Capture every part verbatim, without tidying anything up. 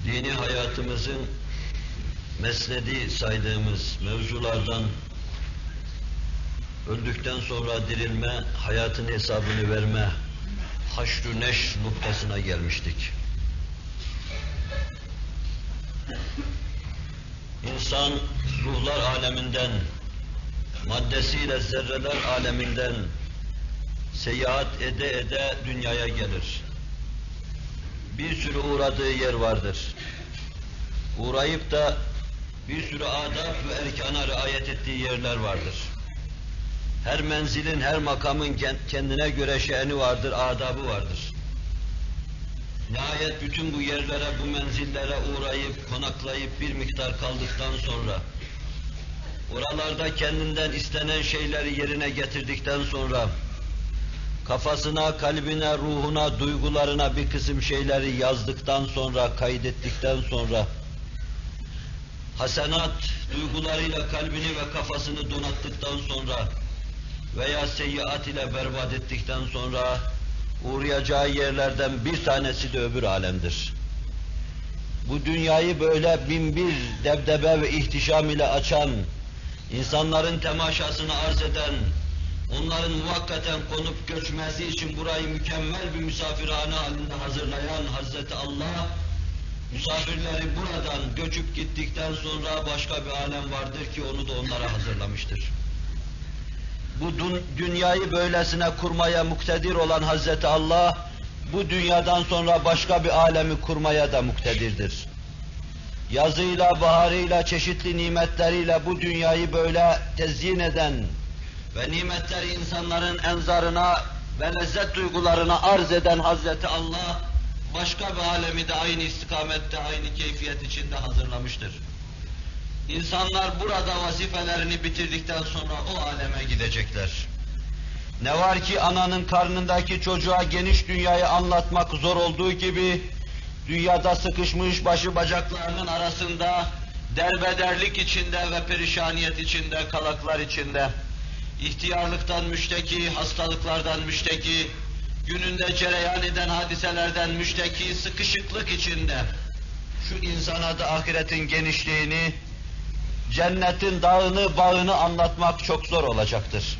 dini hayatımızın mesnedi saydığımız mevzulardan öldükten sonra dirilme, hayatın hesabını verme, haşr-ı neşr noktasına gelmiştik. İnsan ruhlar aleminden, maddesiyle zerreler aleminden seyahat ede ede dünyaya gelir. Bir sürü uğradığı yer vardır. Uğrayıp da bir sürü adab ve erkana riayet ettiği yerler vardır. Her menzilin, her makamın kendine göre şe'ni vardır, adabı vardır. Nihayet bütün bu yerlere, bu menzillere uğrayıp, konaklayıp bir miktar kaldıktan sonra, oralarda kendinden istenen şeyleri yerine getirdikten sonra, kafasına, kalbine, ruhuna, duygularına bir kısım şeyleri yazdıktan sonra, kaydettikten sonra, hasenat duygularıyla kalbini ve kafasını donattıktan sonra veya seyyiat ile berbat ettikten sonra uğrayacağı yerlerden bir tanesi de öbür alemdir. Bu dünyayı böyle bin bir debdebe ve ihtişam ile açan, insanların temaşasını arz eden, onların muvakkaten konup göçmesi için burayı mükemmel bir misafirhane halinde hazırlayan Hazreti Allah, misafirleri buradan göçüp gittikten sonra başka bir alem vardır ki onu da onlara hazırlamıştır. Bu dünyayı böylesine kurmaya muktedir olan Hazreti Allah, bu dünyadan sonra başka bir alemi kurmaya da muktedirdir. Yazıyla, baharıyla, çeşitli nimetleriyle bu dünyayı böyle tezyin eden ve nimetleri insanların enzarına ve lezzet duygularına arz eden Hazreti Allah, başka bir alemi de aynı istikamette, aynı keyfiyet içinde hazırlamıştır. İnsanlar burada vazifelerini bitirdikten sonra o aleme gidecekler. Ne var ki ananın karnındaki çocuğa geniş dünyayı anlatmak zor olduğu gibi, dünyada sıkışmış başı bacaklarının arasında, derbederlik içinde ve perişaniyet içinde, kalaklar içinde, ihtiyarlıktan müşteki, hastalıklardan müşteki, gününde cereyan eden hadiselerden müşteki, sıkışıklık içinde, şu insana da ahiretin genişliğini, cennetin dağını, bağını anlatmak çok zor olacaktır.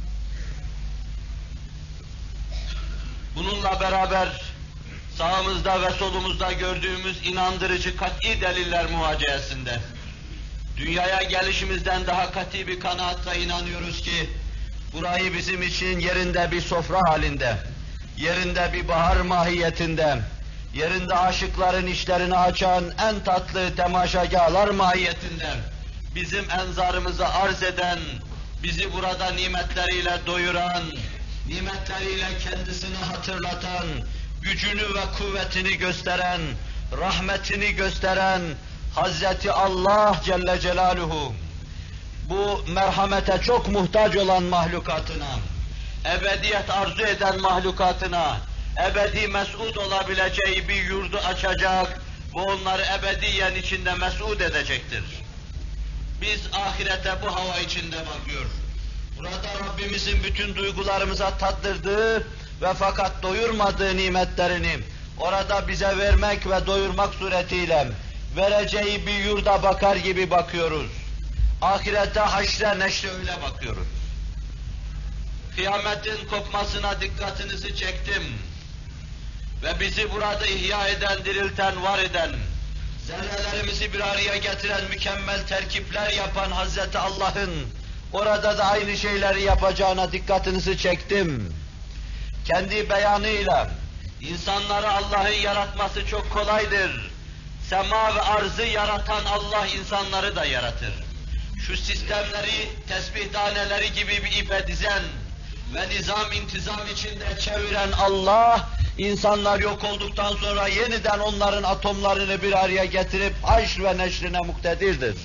Bununla beraber sağımızda ve solumuzda gördüğümüz inandırıcı kat'i deliller muhaceyesinde, dünyaya gelişimizden daha kat'i bir kanaatla inanıyoruz ki, burayı bizim için yerinde bir sofra halinde, yerinde bir bahar mahiyetinde, yerinde aşıkların işlerini açan en tatlı temaşagâhlar mahiyetinde, bizim enzarımızı arz eden, bizi burada nimetleriyle doyuran, nimetleriyle kendisini hatırlatan, gücünü ve kuvvetini gösteren, rahmetini gösteren Hazreti Allah Celle Celaluhu, bu merhamete çok muhtaç olan mahlukatına, ebediyet arzu eden mahlukatına, ebedi mes'ud olabileceği bir yurdu açacak ve onları ebediyen içinde mes'ud edecektir. Biz ahirete bu hava içinde bakıyor. Burada Rabbimizin bütün duygularımıza tattırdığı ve fakat doyurmadığı nimetlerini orada bize vermek ve doyurmak suretiyle vereceği bir yurda bakar gibi bakıyoruz. Ahirete, haşre, neşre öyle bakıyoruz. Kıyametin kopmasına dikkatinizi çektim. Ve bizi burada ihya eden, dirilten, var eden, zerrelerimizi bir araya getiren, mükemmel terkipler yapan Hazreti Allah'ın orada da aynı şeyleri yapacağına dikkatinizi çektim. Kendi beyanıyla insanları Allah'ın yaratması çok kolaydır. Sema ve arzı yaratan Allah insanları da yaratır. Şu sistemleri, tesbih taneleri gibi bir ipe dizen ve nizam intizam içinde çeviren Allah, insanlar yok olduktan sonra yeniden onların atomlarını bir araya getirip haşr ve neşrine muktedirdir.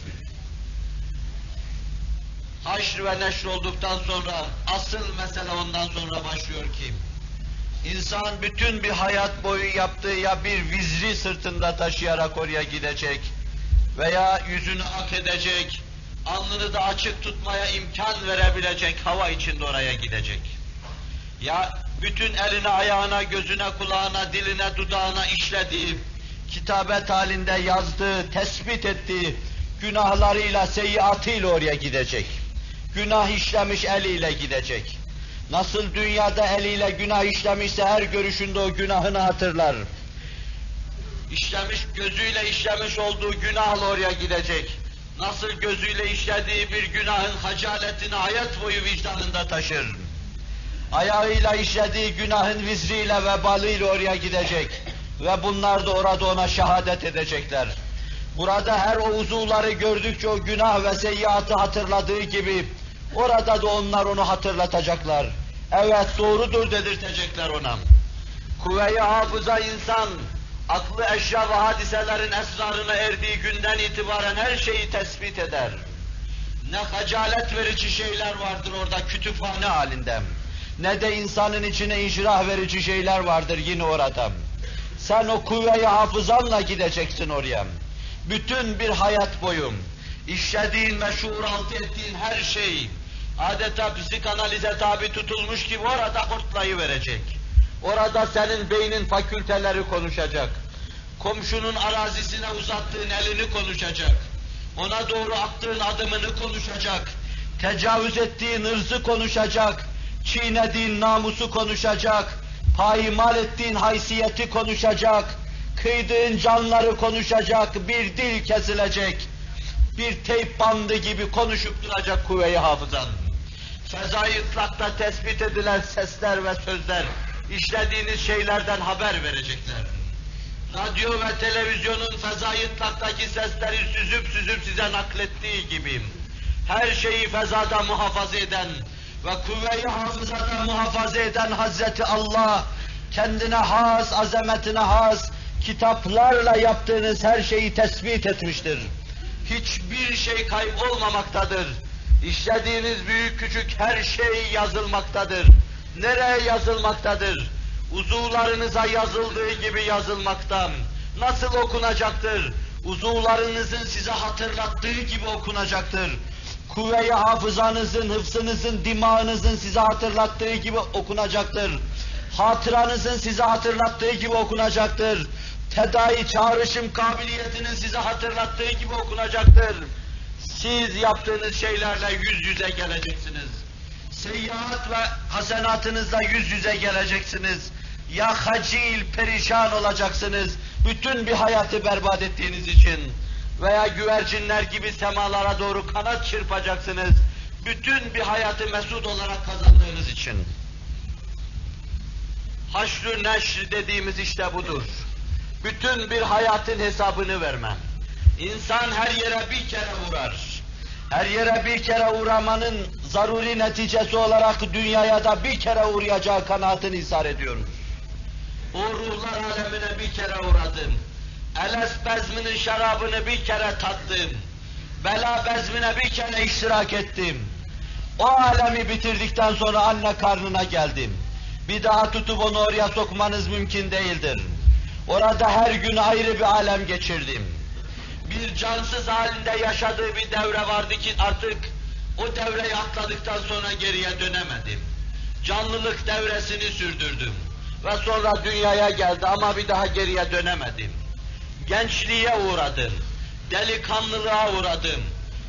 Haşr ve neşr olduktan sonra asıl mesele ondan sonra başlıyor ki, İnsan bütün bir hayat boyu yaptığı ya bir vizri sırtında taşıyarak oraya gidecek veya yüzünü ak edecek, alnını da açık tutmaya imkan verebilecek hava içinde oraya gidecek. Ya bütün eline, ayağına, gözüne, kulağına, diline, dudağına işlediği, kitabet halinde yazdığı, tespit ettiği günahlarıyla, seyyiatıyla oraya gidecek. Günah işlemiş eliyle gidecek. Nasıl dünyada eliyle günah işlemişse her görüşünde o günahını hatırlar. İşlemiş, gözüyle işlemiş olduğu günahla oraya gidecek. Nasıl gözüyle işlediği bir günahın hacaletini hayat boyu vicdanında taşır. Ayağıyla işlediği günahın vizriyle, vebalıyla oraya gidecek. Ve bunlar da orada ona şehadet edecekler. Burada her o uzuvları gördükçe o günah ve seyyiatı hatırladığı gibi, orada da onlar onu hatırlatacaklar. Evet, doğrudur dedirtecekler ona. Kuvve-i hafıza insan, aklı eşya ve hadiselerin esrarına erdiği günden itibaren her şeyi tespit eder. Ne hacalet verici şeyler vardır orada kütüphane halinde, ne de insanın içine inşirah verici şeyler vardır yine orada. Sen o kuvve-i hafızanla gideceksin oraya. Bütün bir hayat boyu işlediğin ve şuuraltı ettiğin her şey adeta psikanalize tabi tutulmuş gibi orada hortlayıverecek. Orada senin beynin fakülteleri konuşacak. Komşunun arazisine uzattığın elini konuşacak. Ona doğru attığın adımını konuşacak. Tecavüz ettiğin ırzı konuşacak. Çiğnediğin namusu konuşacak. Payimal ettiğin haysiyeti konuşacak. Kıydığın canları konuşacak. Bir dil kesilecek. Bir teyp bandı gibi konuşup duracak kuvve-i hafızan. Fezai ıtlakta tespit edilen sesler ve sözler, işlediğiniz şeylerden haber verecekler. Radyo ve televizyonun fezai ıtlaktaki sesleri süzüp süzüp size naklettiği gibi, her şeyi fezada muhafaza eden ve kuvve-i hafızada muhafaza eden Hazreti Allah, kendine has, azametine has, kitaplarla yaptığınız her şeyi tespit etmiştir. Hiçbir şey kaybolmamaktadır. İşlediğiniz büyük küçük her şey yazılmaktadır. Nereye yazılmaktadır? Uzuvlarınıza yazıldığı gibi yazılmakta. Nasıl okunacaktır? Uzuvlarınızın size hatırlattığı gibi okunacaktır. Kuvve-i hafızanızın, hıfzınızın, dimağınızın size hatırlattığı gibi okunacaktır. Hatıranızın size hatırlattığı gibi okunacaktır. Tedai çağrışım kabiliyetinin size hatırlattığı gibi okunacaktır. Siz yaptığınız şeylerle yüz yüze geleceksiniz. Seyyiat ve hasenatınızla yüz yüze geleceksiniz. Ya hacil, perişan olacaksınız. Bütün bir hayatı berbat ettiğiniz için. Veya güvercinler gibi semalara doğru kanat çırpacaksınız. Bütün bir hayatı mesut olarak kazandığınız için. Haşr-ı neşr dediğimiz işte budur. Bütün bir hayatın hesabını vermem. İnsan her yere bir kere uğrar. Her yere bir kere uğramanın zaruri neticesi olarak dünyaya da bir kere uğrayacağı kanaatini ishar ediyoruz. O ruhlar alemine bir kere uğradım. Eles bezminin şarabını bir kere tattım. Bela bezmine bir kere iştirak ettim. O alemi bitirdikten sonra anne karnına geldim. Bir daha tutup onu oraya sokmanız mümkün değildir. Orada her gün ayrı bir alem geçirdim. Bir cansız halinde yaşadığı bir devre vardı ki artık o devreyi atladıktan sonra geriye dönemedim. Canlılık devresini sürdürdüm. Ve sonra dünyaya geldi ama bir daha geriye dönemedim. Gençliğe uğradım. Delikanlılığa uğradım.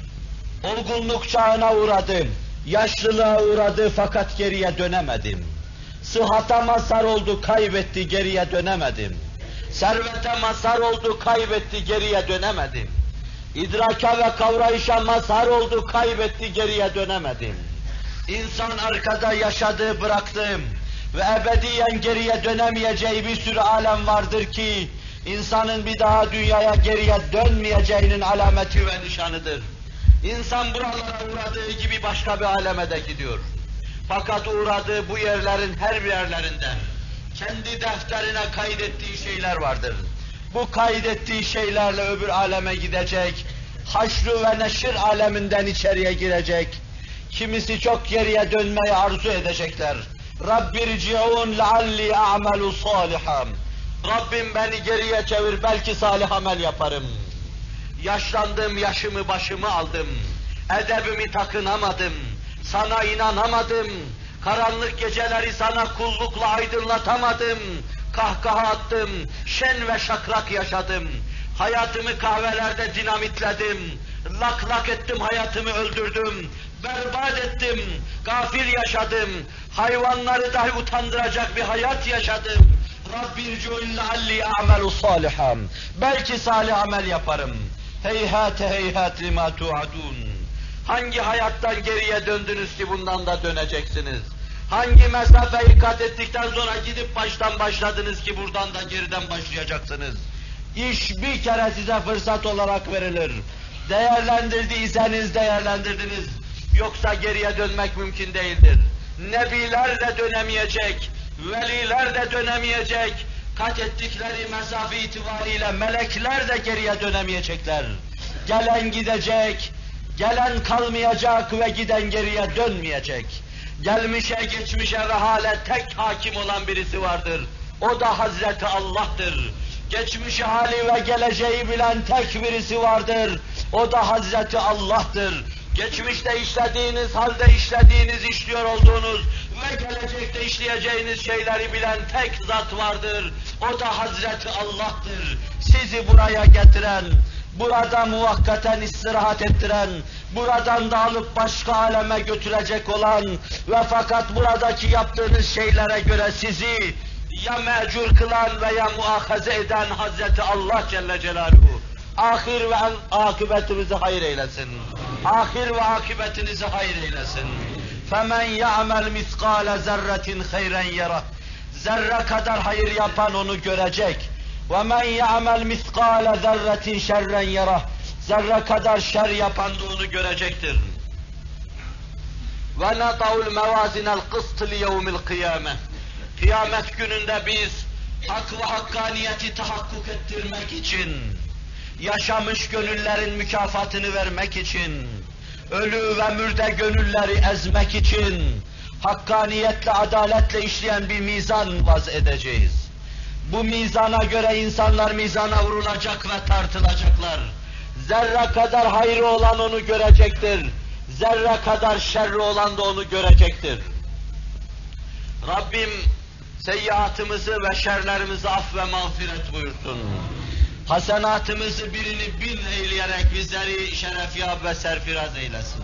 Olgunluk çağına uğradım. Yaşlılığa uğradı fakat geriye dönemedim. Sıhhata mazhar oldu, kaybetti, geriye dönemedim. Servete mazhar oldu, kaybetti, geriye dönemedim. İdraka ve kavrayışa mazhar oldu, kaybetti, geriye dönemedim. İnsan arkada yaşadığı, bıraktığım ve ebediyen geriye dönemeyeceği bir sürü alem vardır ki, insanın bir daha dünyaya geriye dönmeyeceğinin alameti ve nişanıdır. İnsan buralara uğradığı gibi başka bir aleme de gidiyor. Fakat uğradığı bu yerlerin her bir yerlerinden kendi defterine kaydettiği şeyler vardır. Bu kaydettiği şeylerle öbür aleme gidecek, haşr ve neşir aleminden içeriye girecek. Kimisi çok geriye dönmeyi arzu edecekler. Rabbirci'un lealli a'melu salihan. Rabbim beni geriye çevir, belki salih amel yaparım. Yaşlandım, yaşımı başımı aldım. Edebimi takınamadım. Sana inanamadım. Karanlık geceleri sana kullukla aydınlatamadım. kahkaha attım, şen ve şakrak yaşadım. Hayatımı kahvelerde dinamitledim, lak lak ettim, hayatımı öldürdüm, berbat ettim, gafil yaşadım, hayvanları dahi utandıracak bir hayat yaşadım. Rabbi irci'un lealli a'melu salihan. Belki salih amel yaparım. Heyhate heyhat lima tu'adun. Hangi hayattan geriye döndünüz ki bundan da döneceksiniz? Hangi mesafeyi kat ettikten sonra gidip baştan başladınız ki buradan da geriden başlayacaksınız? İş bir kere size fırsat olarak verilir. Değerlendirdiyseniz değerlendirdiniz. Yoksa geriye dönmek mümkün değildir. Nebiler de dönemeyecek, veliler de dönemeyecek, kat ettikleri mesafe itibariyle melekler de geriye dönemeyecekler. Gelen gidecek, gelen kalmayacak ve giden geriye dönmeyecek. Gelmişe, geçmişe ve hale tek hakim olan birisi vardır. O da Hazreti Allah'tır. Geçmişi, hali ve geleceği bilen tek birisi vardır. O da Hazreti Allah'tır. Geçmişte işlediğiniz, halde işlediğiniz, işliyor olduğunuz ve gelecekte işleyeceğiniz şeyleri bilen tek zat vardır. O da Hazreti Allah'tır. Sizi buraya getiren, burada muvakkaten istirahat ettiren, buradan da alıp başka aleme götürecek olan ve fakat buradaki yaptığınız şeylere göre sizi ya mecur kılan veya muahaze eden Hazreti Allah Celle Celaluhu, ahir ve akıbetimizi hayır eylesin. Ahir ve akıbetinizi hayır eylesin. فَمَنْ يَعْمَلْ مِثْقَالَ زَرَّةٍ خَيْرًا يَرَهُ. Zerre kadar hayır yapan onu görecek. وَمَنْ يَعْمَلْ مِثْقَالَ ذَرَّةٍ شَرًّا يَرَهُ. Zerre kadar şer yapan da onu görecektir. وَنَضَعُ الْمَوَازِنَ الْقِسْطِ لِيَوْمِ الْقِيَامَةِ. Kıyamet gününde biz hak ve hakkaniyeti tahakkuk ettirmek için, yaşamış gönüllerin mükafatını vermek için, ölü ve mürde gönülleri ezmek için, hakkaniyetle, adaletle işleyen bir mizan vaz edeceğiz. Bu mizana göre insanlar mizana vurulacak ve tartılacaklar. Zerre kadar hayrı olan onu görecektir. Zerre kadar şerri olan da onu görecektir. Rabbim seyyiatımızı ve şerlerimizi af ve mağfiret buyursun. Hasenatımızı birini bin eyleyerek bizleri şerefyab ve serfiraz eylesin.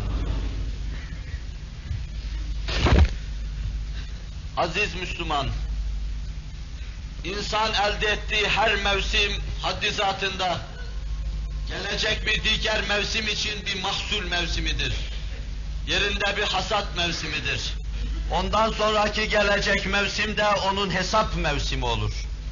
Aziz Müslüman, insan elde ettiği her mevsim haddi zatında, gelecek bir diğer mevsim için bir mahsul mevsimidir. Yerinde bir hasat mevsimidir. Ondan sonraki gelecek mevsimde onun hesap mevsimi olur.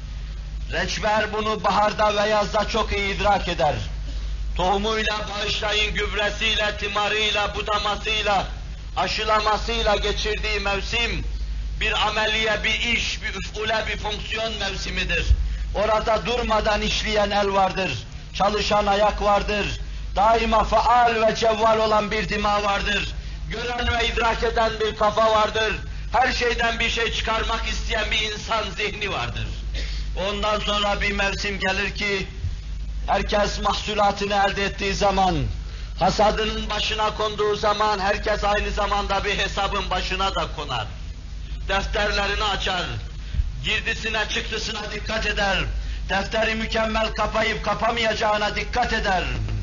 Reçber bunu baharda ve yazda çok iyi idrak eder. Tohumuyla, bağışlayın gübresiyle, timarıyla, budamasıyla, aşılamasıyla geçirdiği mevsim, bir ameliye, bir iş, bir üfule, bir fonksiyon mevsimidir. Orada durmadan işleyen el vardır, çalışan ayak vardır, daima faal ve cevval olan bir dima vardır, gören ve idrak eden bir kafa vardır, her şeyden bir şey çıkarmak isteyen bir insan zihni vardır. Ondan sonra bir mevsim gelir ki, herkes mahsulatını elde ettiği zaman, hasadının başına konduğu zaman, herkes aynı zamanda bir hesabın başına da konar. Defterlerini açar, girdisine çıktısına dikkat eder, defteri mükemmel kapayıp kapamayacağına dikkat eder.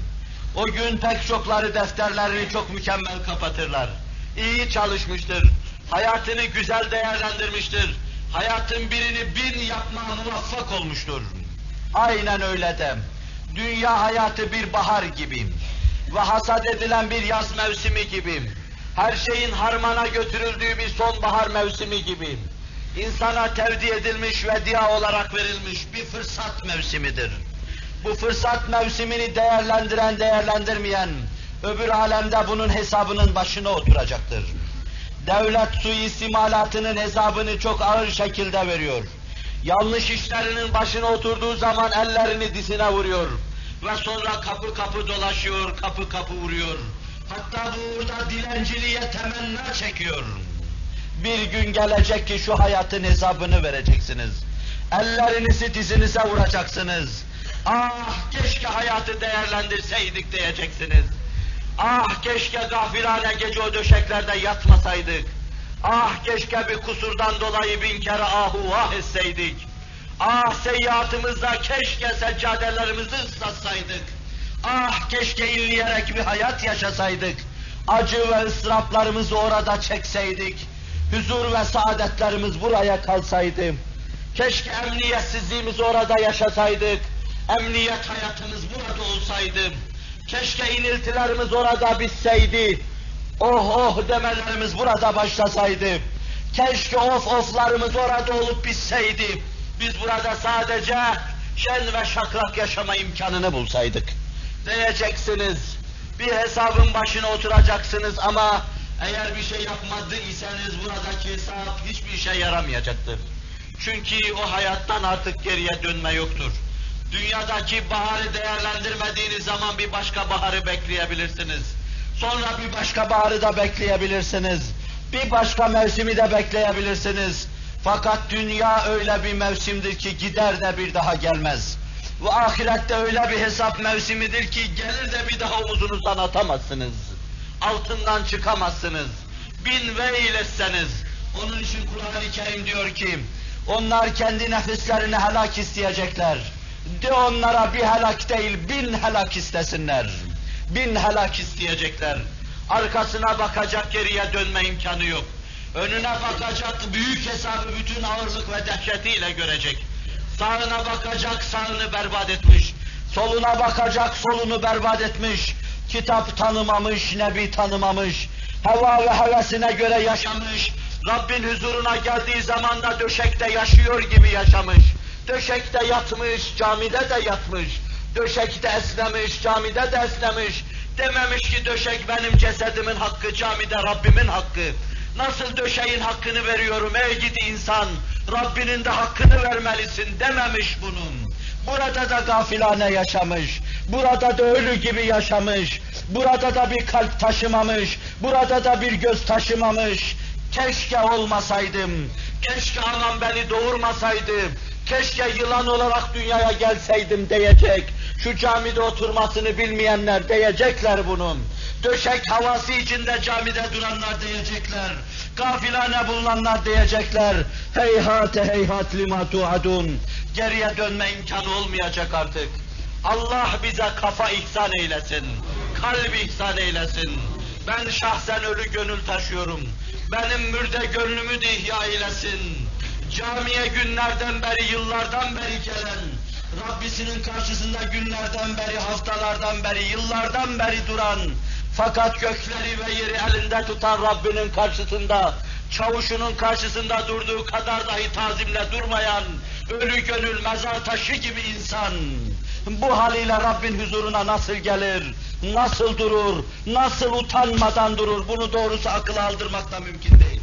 O gün pek çokları defterlerini çok mükemmel kapatırlar. İyi çalışmıştır, hayatını güzel değerlendirmiştir, hayatın birini bin yapmaya muvaffak olmuştur. Aynen öyle de, dünya hayatı bir bahar gibi ve hasat edilen bir yaz mevsimi gibi, her şeyin harmana götürüldüğü bir sonbahar mevsimi gibi, insana tevdi edilmiş ve diya olarak verilmiş bir fırsat mevsimidir. Bu fırsat mevsimini değerlendiren, değerlendirmeyen, öbür alemde bunun hesabının başına oturacaktır. Devlet suistimalatının hesabını çok ağır şekilde veriyor. Yanlış işlerinin başına oturduğu zaman ellerini dizine vuruyor. Ve sonra kapı kapı dolaşıyor, kapı kapı vuruyor. Hatta bu uğurda dilenciliğe temenna çekiyor. Bir gün gelecek ki şu hayatın hesabını vereceksiniz. Ellerinizi dizinize vuracaksınız. Ah keşke hayatı değerlendirseydik diyeceksiniz. Ah keşke gafilane gece o döşeklerde yatmasaydık. Ah keşke bir kusurdan dolayı bin kere ahu vah etseydik. Ah seyyiatımızda keşke seccadelerimizi ıslatsaydık. Ah keşke inleyerek bir hayat yaşasaydık. Acı ve ıstıraplarımızı orada çekseydik. Huzur ve saadetlerimiz buraya kalsaydı. Keşke emniyetsizliğimizi orada yaşasaydık. Emniyet hayatımız burada olsaydı. Keşke iniltilerimiz orada bitseydi. Oh oh demelerimiz burada başlasaydı. Keşke of oflarımız orada olup bitseydi. Biz burada sadece şen ve şakrak yaşama imkanını bulsaydık. Diyeceksiniz, bir hesabın başına oturacaksınız ama eğer bir şey yapmadı iseniz buradaki hesap hiçbir işe yaramayacaktır. Çünkü o hayattan artık geriye dönme yoktur. Dünyadaki baharı değerlendirmediğiniz zaman bir başka baharı bekleyebilirsiniz. Sonra bir başka baharı da bekleyebilirsiniz. Bir başka mevsimi de bekleyebilirsiniz. Fakat dünya öyle bir mevsimdir ki gider de bir daha gelmez. Bu ahirette öyle bir hesap mevsimidir ki gelir de bir daha omuzunuzdan atamazsınız. Altından çıkamazsınız. Bin veil etseniz. Onun için Kur'an-ı Kerim diyor ki, onlar kendi nefislerini helak isteyecekler. De onlara bir helak değil, bin helak istesinler. Bin helak isteyecekler. Arkasına bakacak, geriye dönme imkanı yok. Önüne bakacak, büyük hesabı bütün ağırlık ve dehşetiyle görecek. Sağına bakacak, sağını berbat etmiş. Soluna bakacak, solunu berbat etmiş. Kitap tanımamış, nebi tanımamış. Heva ve hevesine göre yaşamış. Rabbin huzuruna geldiği zaman da döşekte yaşıyor gibi yaşamış. Döşekte yatmış, camide de yatmış. Döşekte esnemiş, camide de esnemiş. Dememiş ki döşek benim cesedimin hakkı, camide Rabbimin hakkı. Nasıl döşeğin hakkını veriyorum ey gidi insan, Rabbinin de hakkını vermelisin dememiş bunun. Burada da gafilane yaşamış, burada da ölü gibi yaşamış, burada da bir kalp taşımamış, burada da bir göz taşımamış. Keşke olmasaydım, keşke anam beni doğurmasaydı, keşke yılan olarak dünyaya gelseydim diyecek. Şu camide oturmasını bilmeyenler diyecekler bunun. Döşek havası içinde camide duranlar diyecekler. Gafilane bulunanlar diyecekler. Heyhat heyhat lima tuadun. Geriye dönme imkanı olmayacak artık. Allah bize kafa ihsan eylesin. Kalp ihsan eylesin. Ben şahsen ölü gönül taşıyorum. Benim mürde gönlümü de ihya eylesin. Camiye günlerden beri, yıllardan beri gelen, Rabbisinin karşısında günlerden beri, haftalardan beri, yıllardan beri duran, fakat gökleri ve yeri elinde tutan Rabbinin karşısında, çavuşunun karşısında durduğu kadar dahi tazimle durmayan, ölü gönül mezar taşı gibi insan, bu haliyle Rabbin huzuruna nasıl gelir, nasıl durur, nasıl utanmadan durur, bunu doğrusu akıla aldırmak da mümkün değil.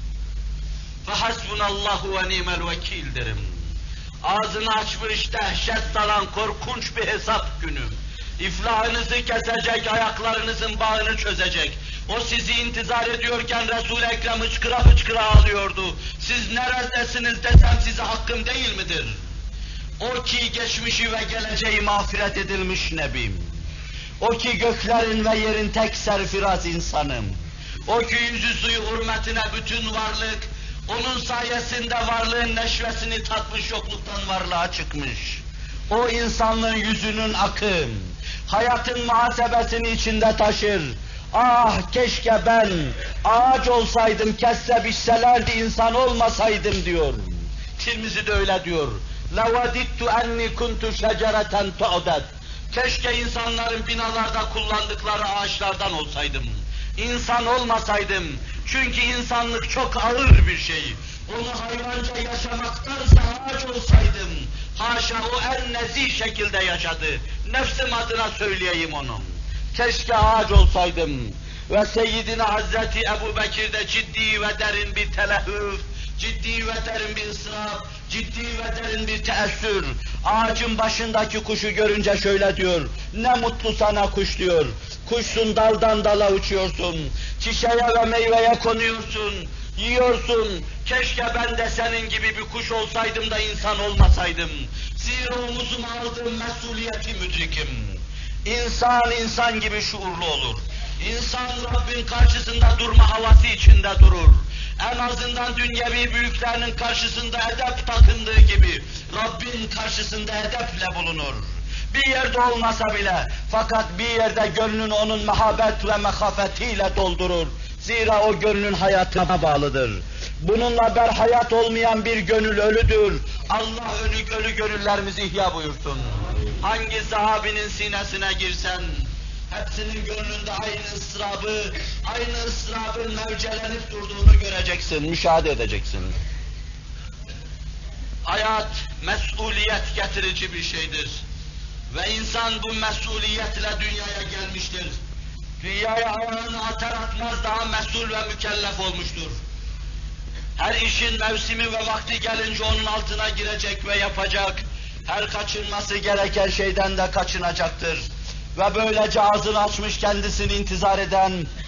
فَحَسْبُنَاللّٰهُ وَنِعْمَ الْوَكِيلِ derim. Ağzını açmış dehşet salan korkunç bir hesap günü. İflahınızı kesecek, ayaklarınızın bağını çözecek. O sizi intizar ediyorken Resul-i Ekrem hıçkıra hıçkıra ağlıyordu. Siz neredesiniz desem size hakkım değil midir? O ki geçmişi ve geleceği mağfiret edilmiş nebim. O ki göklerin ve yerin tek serfiraz insanım. O ki yüzü suyu hürmetine bütün varlık, onun sayesinde varlığın neşvesini tatmış, yokluktan varlığa çıkmış. O insanlığın yüzünün akı, hayatın muhasebesini içinde taşır. Ah keşke ben ağaç olsaydım, kesse biçselerdi, insan olmasaydım diyor. Tirmizi de öyle diyor. لَوَدِدْتُ اَنِّي كُنْتُ شَجَرَةً تُعْدَدْ Keşke insanların binalarda kullandıkları ağaçlardan olsaydım. İnsan olmasaydım. Çünkü insanlık çok ağır bir şey. Onu hayvanca yaşamaktansa ağaç olsaydım. Haşa o en nezih şekilde yaşadı. Nefsim adına söyleyeyim onu. Keşke ağaç olsaydım. Ve Seyyidina Hazreti Ebu Bekir'de ciddi ve derin bir telehüf, ciddi ve derin bir ısrar, ciddi ve derin bir teessür. Ağacın başındaki kuşu görünce şöyle diyor, ne mutlu sana kuş diyor. Kuşsun, daldan dala uçuyorsun, çiçeğe ve meyveye konuyorsun, yiyorsun. Keşke ben de senin gibi bir kuş olsaydım da insan olmasaydım. Zira omuzuma aldığım mesuliyeti müdrikim. İnsan, insan gibi şuurlu olur. İnsan Rabbin karşısında durma havası içinde durur. En azından dünyevi büyüklerinin karşısında edep takındığı gibi Rabbin karşısında edeple bulunur. Bir yerde olmasa bile, fakat bir yerde gönlünü onun mehabet ve mehafetiyle doldurur. Zira o gönlün hayatına bağlıdır. Bununla berhayat olmayan bir gönül ölüdür. Allah ölü ölü gönüllerimizi ihya buyursun. Hangi sahabinin sinesine girsen, hepsinin gönlünde aynı ıstırabı, aynı ıstırabın mevcelenip durduğunu göreceksin, müşahede edeceksin. Hayat, mesuliyet getirici bir şeydir. Ve insan bu mesuliyetle dünyaya gelmiştir. Dünyaya ayağını atar atmaz daha mesul ve mükellef olmuştur. Her işin mevsimi ve vakti gelince onun altına girecek ve yapacak. Her kaçınması gereken şeyden de kaçınacaktır. Ve böylece ağzını açmış kendisini intizar eden,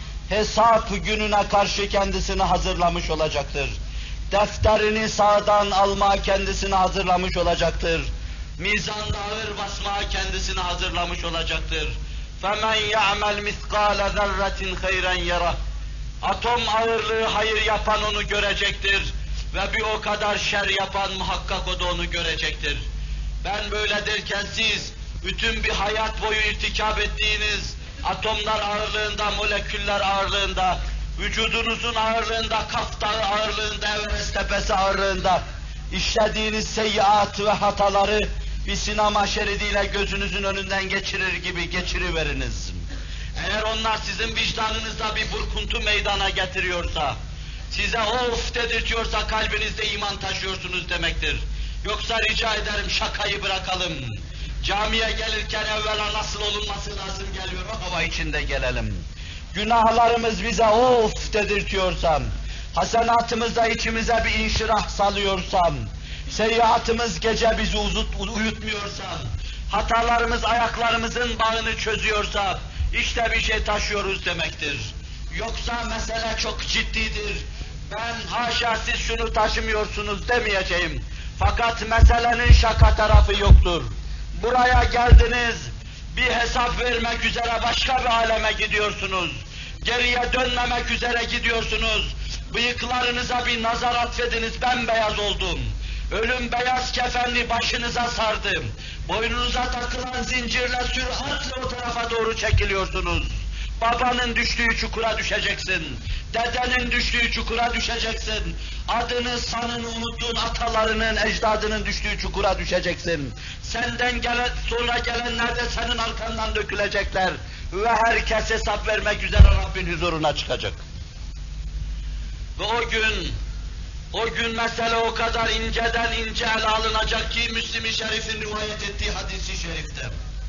hesap gününe karşı kendisini hazırlamış olacaktır. Defterini sağdan almaya kendisini hazırlamış olacaktır. Mizanda ağır basmaya kendisini hazırlamış olacaktır. فَمَنْ يَعْمَلْ مِثْقَالَ ذَرَّةٍ خَيْرًا يَرَهُ. Atom ağırlığı hayır yapan onu görecektir ve bir o kadar şer yapan muhakkak o da onu görecektir. Ben böyle derken siz bütün bir hayat boyu irtikap ettiğiniz atomlar ağırlığında, moleküller ağırlığında, vücudunuzun ağırlığında, Kaf Dağı ağırlığında, Everest Tepesi ağırlığında işlediğiniz seyyiat ve hataları bir sinema şeridiyle gözünüzün önünden geçirir gibi geçiriveriniz. Eğer onlar sizin vicdanınızda bir burkuntu meydana getiriyorsa, size of dedirtiyorsa kalbinizde iman taşıyorsunuz demektir. Yoksa rica ederim şakayı bırakalım. Camiye gelirken evvela nasıl olunması lazım geliyor, o hava içinde gelelim. Günahlarımız bize of dedirtiyorsam, hasenatımızda içimize bir inşirah salıyorsam, seyyiatımız gece bizi uzut, uyutmuyorsa, hatalarımız ayaklarımızın bağını çözüyorsa, işte bir şey taşıyoruz demektir. Yoksa mesele çok ciddidir. Ben haşa siz şunu taşımıyorsunuz demeyeceğim. Fakat meselenin şaka tarafı yoktur. Buraya geldiniz, bir hesap vermek üzere başka bir aleme gidiyorsunuz. Geriye dönmemek üzere gidiyorsunuz. Bıyıklarınıza bir nazar atfediniz, bembeyaz oldum. Ölüm beyaz kefenli başınıza sardım. Boynunuza takılan zincirle süratle o tarafa doğru çekiliyorsunuz. Babanın düştüğü çukura düşeceksin. Dedenin düştüğü çukura düşeceksin. Adını, sanını unuttuğun atalarının, ecdadının düştüğü çukura düşeceksin. Senden gelen, sonra gelenler de senin arkandan dökülecekler. Ve herkes hesap vermek üzere Rabbin huzuruna çıkacak. Ve o gün, o gün mesele o kadar inceden ince ele alınacak ki Müslim-i Şerif'in rivayet ettiği hadis-i şerifte.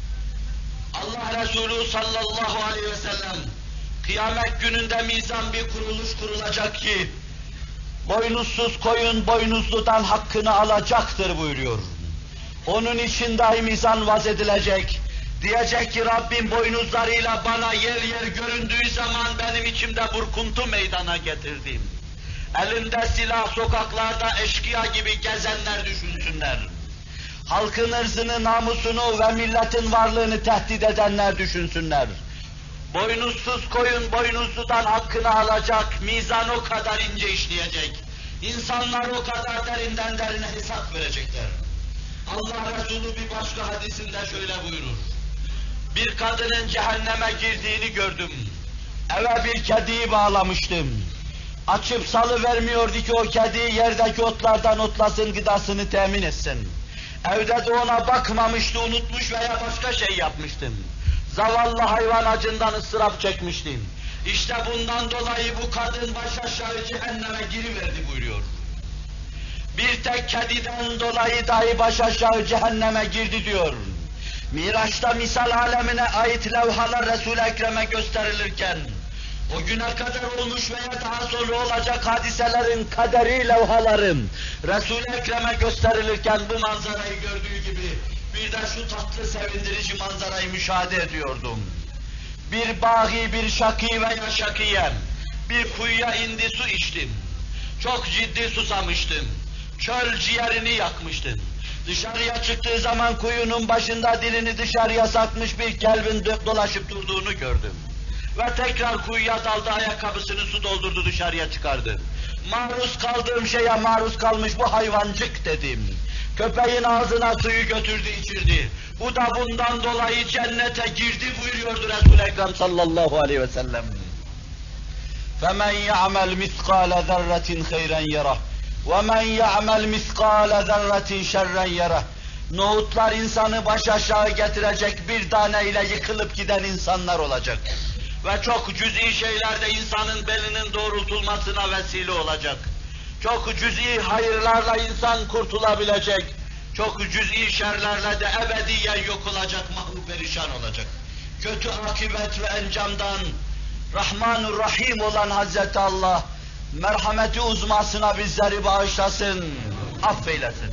Allah Resulü sallallahu aleyhi ve sellem, kıyamet gününde mizan bir kuruluş kurulacak ki, boynuzsuz koyun boynuzludan hakkını alacaktır buyuruyor. Onun için dahi mizan vaz edilecek. Diyecek ki Rabbim boynuzlarıyla bana yer yer göründüğü zaman benim içimde burkuntu meydana getirdim. Elinde silah sokaklarda eşkıya gibi gezenler düşünsünler. Halkın ırzını, namusunu ve milletin varlığını tehdit edenler düşünsünler. Boynuzsuz koyun boynuzludan hakkını alacak, mizan o kadar ince işleyecek. İnsanlar o kadar derinden derine hesap verecekler. Allah Resulü bir başka hadisinde şöyle buyurur. Bir kadının cehenneme girdiğini gördüm. Eve bir kediyi bağlamıştım. Açıp salıvermiyordu ki o kedi yerdeki otlardan otlasın, gıdasını temin etsin. Evde de ona bakmamıştı, unutmuş veya başka şey yapmıştım. Zavallı hayvan acından ıstırap çekmiştim. İşte bundan dolayı bu kadın baş aşağı cehenneme giriverdi buyuruyor. Bir tek kediden dolayı dahi baş aşağı cehenneme girdi diyor. Miraç'ta misal alemine ait levhalar Resul-i Ekrem'e gösterilirken, o güne kadar olmuş veya daha sonra olacak hadiselerin kaderi levhalarım Resul-i Ekrem'e gösterilirken bu manzarayı gördüğü gibi bir de şu tatlı sevindirici manzarayı müşahede ediyordum. Bir bağı, bir şakî veya şakîyen bir kuyuya indi, su içtim. Çok ciddi susamıştım. Çöl ciğerini yakmıştım. Dışarıya çıktığı zaman kuyunun başında dilini dışarıya satmış bir kelbin dolaşıp durduğunu gördüm. Ve tekrar kuyuya daldı, ayakkabısını su doldurdu, dışarıya çıkardı. Maruz kaldığım şeye maruz kalmış bu hayvancık dedim. Köpeğin ağzına suyu götürdü, içirdi. Bu da bundan dolayı cennete girdi buyuruyordu Resul-i Ekrem sallallahu aleyhi ve sellem. فَمَنْ يَعْمَلْ مِثْقَالَ ذَرَّةٍ خَيْرًا يَرَهُ وَمَنْ يَعْمَلْ مِثْقَالَ ذَرَّةٍ شَرًّا يَرَهُ. Nohutlar insanı baş aşağı getirecek bir taneyle yıkılıp giden insanlar olacak. Ve çok cüz'i şeylerde insanın belinin doğrultulmasına vesile olacak. Çok cüz'i hayırlarla insan kurtulabilecek. Çok cüz'i şerlerle de ebediyen yok olacak, mahvu perişan olacak. Kötü akıbet ve encamdan Rahmanur Rahim olan Hazreti Allah merhameti uzmasına bizleri bağışlasın, affeylesin.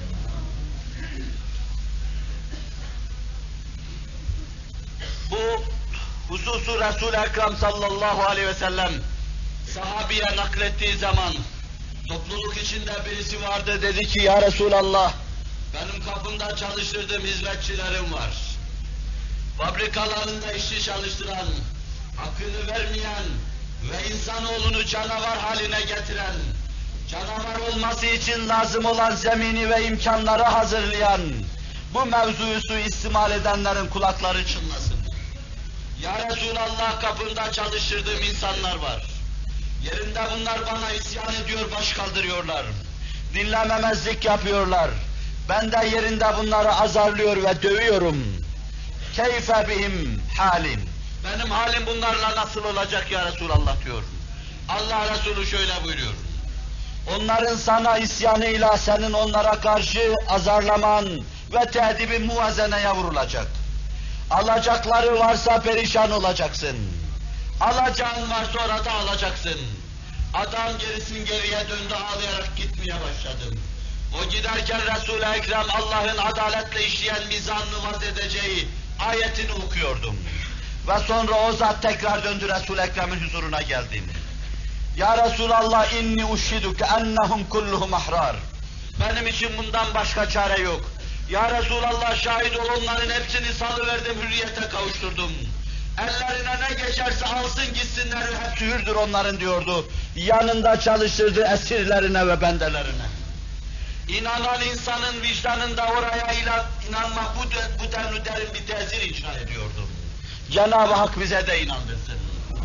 Bu hususu Resul-i Ekrem sallallahu aleyhi ve sellem sahabiye naklettiği zaman topluluk içinde birisi vardı, dedi ki ya Resulallah, benim kapımda çalıştırdığım hizmetçilerim var. Fabrikalarında işçi çalıştıran, hakkını vermeyen ve insanoğlunu canavar haline getiren, canavar olması için lazım olan zemini ve imkanları hazırlayan, bu mevzuyu suistimal edenlerin kulakları çınlasın. Ya Resulallah, kapında çalıştırdığım insanlar var. Yerinde bunlar bana isyan ediyor, baş kaldırıyorlar. Dinlememezlik yapıyorlar. Ben de yerinde bunları azarlıyor ve dövüyorum. Keyfe bihim halim. Benim halim bunlarla nasıl olacak ya Resulallah diyor. Allah Resulü şöyle buyuruyor. Onların sana isyanıyla senin onlara karşı azarlaman ve tehdibin muvazeneye vurulacak. Alacakları varsa perişan olacaksın. Alacağın varsa orada alacaksın. Adam gerisin geriye döndü, ağlayarak gitmeye başladı. O giderken Resul-i Ekrem Allah'ın adaletle işleyen mizanını vaz edeceği ayetini okuyordum. Ve sonra o zat tekrar döndü Resul-i Ekrem'in huzuruna geldi. Ya Resulallah, inni uşhiduke ennehum kulluhum ahrar. Benim için bundan başka çare yok. Ya Resulallah, şahit ol, onların hepsini salıverdim, hürriyete kavuşturdum. Ellerine ne geçerse alsın gitsinler, hepsi hürdür onların diyordu. Yanında çalıştırdığı esirlerine ve bendelerine. İnanan insanın vicdanında oraya inanmak bu, bu denli derin bir tesir inşa ediyordu. Cenab-ı Hak bize de inandırsın.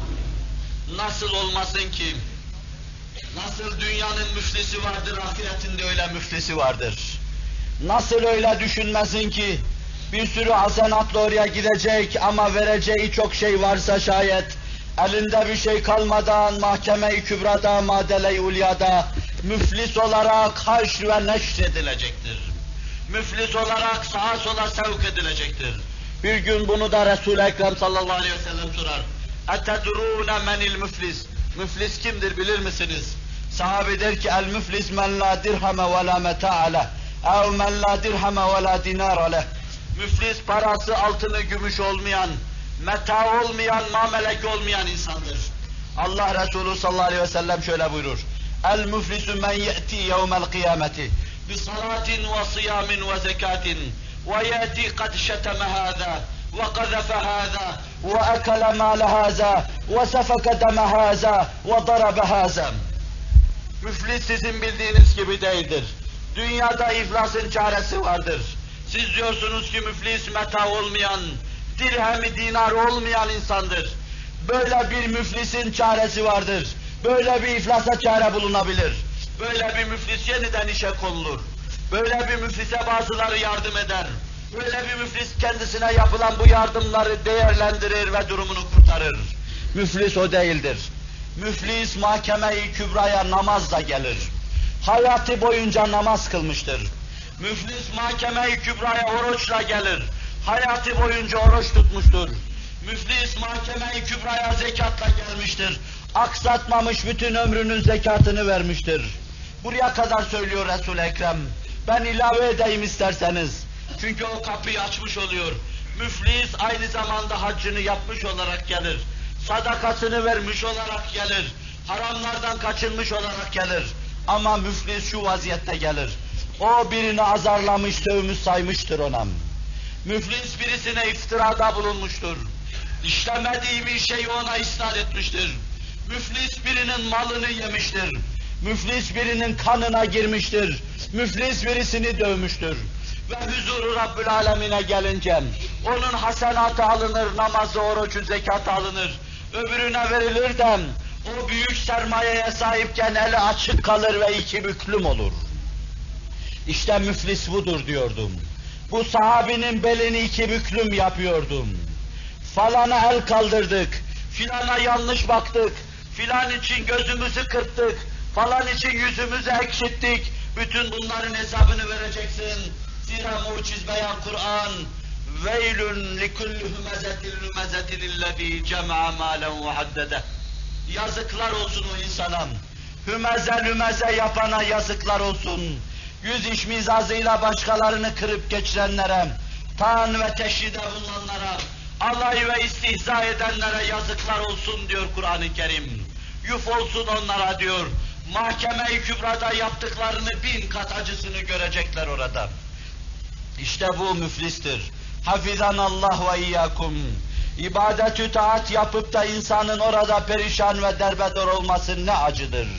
Nasıl olmasın ki? Nasıl dünyanın müflisi vardır, ahiretinde öyle müflisi vardır. Nasıl öyle düşünmesin ki? Bir sürü hasenatla oraya gidecek ama vereceği çok şey varsa şayet, elinde bir şey kalmadan mahkeme-i kübrada, madele-i ulyada müflis olarak haşr ve neşr edilecektir. Müflis olarak sağa sola sevk edilecektir. Bir gün bunu da Resul-i Ekrem sallallahu aleyhi ve sellem sorar. اَتَدْرُونَ مَنِ الْمُفْلِسِ Müflis kimdir bilir misiniz? Sahabe der ki, el-müflis men la dirhame ve la meta'a leh, ev men la dirhame ve la dinara leh. Müflis parası, altını, gümüş olmayan, meta olmayan, mamelek olmayan insandır. Allah Resulü sallallahu aleyhi ve sellem şöyle buyurur. El-müflisu men ye'ti yevmel kıyameti bi salatin ve siyamin ve zekatin ve ye'ti kad şeteme hâzâ ve kazefe hâzâ ve ekele mâle hâzâ ve sefeke deme hâzâ ve darabe hâzâ. Müflis sizin bildiğiniz gibi değildir. Dünyada iflasın çaresi vardır. Siz diyorsunuz ki müflis meta olmayan, dirhemi dinar olmayan insandır. Böyle bir müflisin çaresi vardır. Böyle bir iflasa çare bulunabilir. Böyle bir müflis yeniden işe konulur. Böyle bir müflise bazıları yardım eder. Böyle bir müflis kendisine yapılan bu yardımları değerlendirir ve durumunu kurtarır. Müflis o değildir. Müflis mahkeme-i kübraya namazla gelir. Hayatı boyunca namaz kılmıştır. Müflis mahkeme-i kübraya oruçla gelir. Hayatı boyunca oruç tutmuştur. Müflis mahkeme-i kübraya zekatla gelmiştir. Aksatmamış, bütün ömrünün zekatını vermiştir. Buraya kadar söylüyor Resul-i Ekrem. Ben ilave edeyim isterseniz. Çünkü o kapıyı açmış oluyor. Müflis aynı zamanda haccını yapmış olarak gelir. Sadakasını vermiş olarak gelir. Haramlardan kaçınmış olarak gelir. Ama müflis şu vaziyette gelir. O birini azarlamış, sövmüş saymıştır ona. Müflis birisine iftirada bulunmuştur. İşlemediği bir şeyi ona isnat etmiştir. Müflis birinin malını yemiştir. Müflis birinin kanına girmiştir. Müflis birisini dövmüştür. Ve huzuru Rabbül Alemin'e gelince onun hasenatı alınır, namazı, orucu, zekatı alınır. Öbürüne verilir de o büyük sermayeye sahipken eli açık kalır ve iki büklüm olur. İşte müflis budur diyordum. Bu sahabinin belini iki büklüm yapıyordum. Falana el kaldırdık, filana yanlış baktık, filan için gözümüzü kırptık, falan için yüzümüzü ekşittik. Bütün bunların hesabını vereceksin. Zira muciz beyan Kur'an. Veylün likulli humezetin humezetin illezî cem'a mâlen ve haddede. Yazıklar olsun o insana. Hümeze lümeze yapana yazıklar olsun. Yüz iş mizazıyla başkalarını kırıp geçirenlere, taan ve teşhide bulunanlara, alay ve istihza edenlere yazıklar olsun diyor Kur'an-ı Kerim. Yuf olsun onlara diyor. Mahkeme-i Kübra'da yaptıklarını bin kat acısını görecekler orada. İşte bu müflistir. Hafizanallah ve iyyakum. İbadet-ü taat yapıp da insanın orada perişan ve derbeder olması ne acıdır.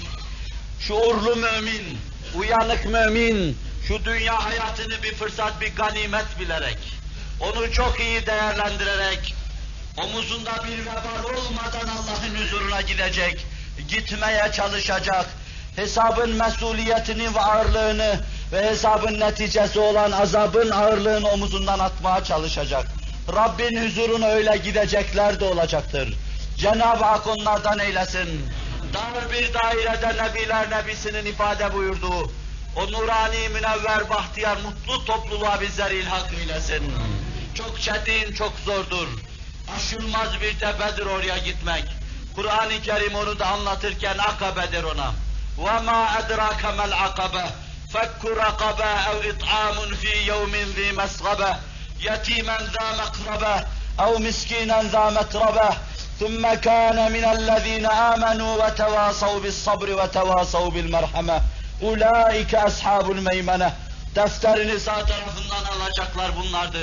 Şuurlu mümin, uyanık mümin, şu dünya hayatını bir fırsat, bir ganimet bilerek, onu çok iyi değerlendirerek, omuzunda bir vebal olmadan Allah'ın huzuruna gidecek, gitmeye çalışacak, hesabın mesuliyetini ve ağırlığını ve hesabın neticesi olan azabın ağırlığını omuzundan atmaya çalışacak. Rabbin huzuruna öyle gidecekler de olacaktır. Cenab-ı Hak onlardan eylesin. Dar bir dairede Nebiler Nebisi'nin ifade buyurduğu o nurani, münevver, bahtiyar, mutlu topluluğa bizleri ilhak eylesin. Çok çetin, çok zordur. Aşılmaz bir tepedir oraya gitmek. Kur'an-ı Kerim onu da anlatırken akabedir ona. وَمَا أَدْرَاكَ مَا الْعَقَبَةِ فَكُّ رَقَبَةٍ اَوْ اِطْعَامٌ فِي يَوْمٍ ذِي مَسْغَبَةٍ يَتِيمًا ذَا مَقْرَبَةٍ اَوْ مِسْكِينًا ذَا مَتْرَبَةٍ ثُمَّ كَانَ مِنَ الَّذ۪ينَ آمَنُوا وَتَوَاصَوْا بِالصَّبْرِ وَتَوَاصَوْا بِالْمَرْحَمَةِ اُولَٰئِكَ أَصْحَابُ الْمَيْمَنَةِ. Defterini sağ tarafından alacaklar bunlardır.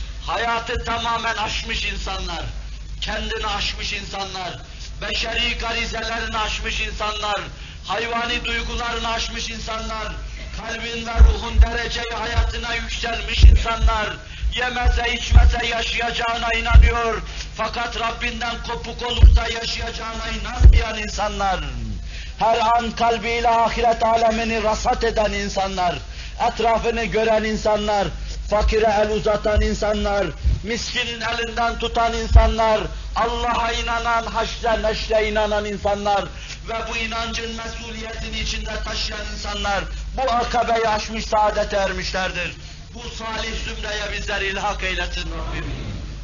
Hayatı tamamen aşmış insanlar, kendini aşmış insanlar, beşeri garizelerini aşmış insanlar, hayvani duygularını aşmış insanlar, kalbin ve ruhun dereceyi hayatına yükselmiş insanlar, yemese içmese yaşayacağına inanıyor, fakat Rabbinden kopuk olup da yaşayacağına inanmayan insanlar, her an kalbiyle ahiret alemini rasat eden insanlar, etrafını gören insanlar, fakire el uzatan insanlar, miskinin elinden tutan insanlar, Allah'a inanan, haşre neşre inanan insanlar ve bu inancın mesuliyetini içinde taşıyan insanlar bu akabeyi aşmış, saadete ermişlerdir. Bu salih zümreye bizleri ilhak eylesin Rabbim.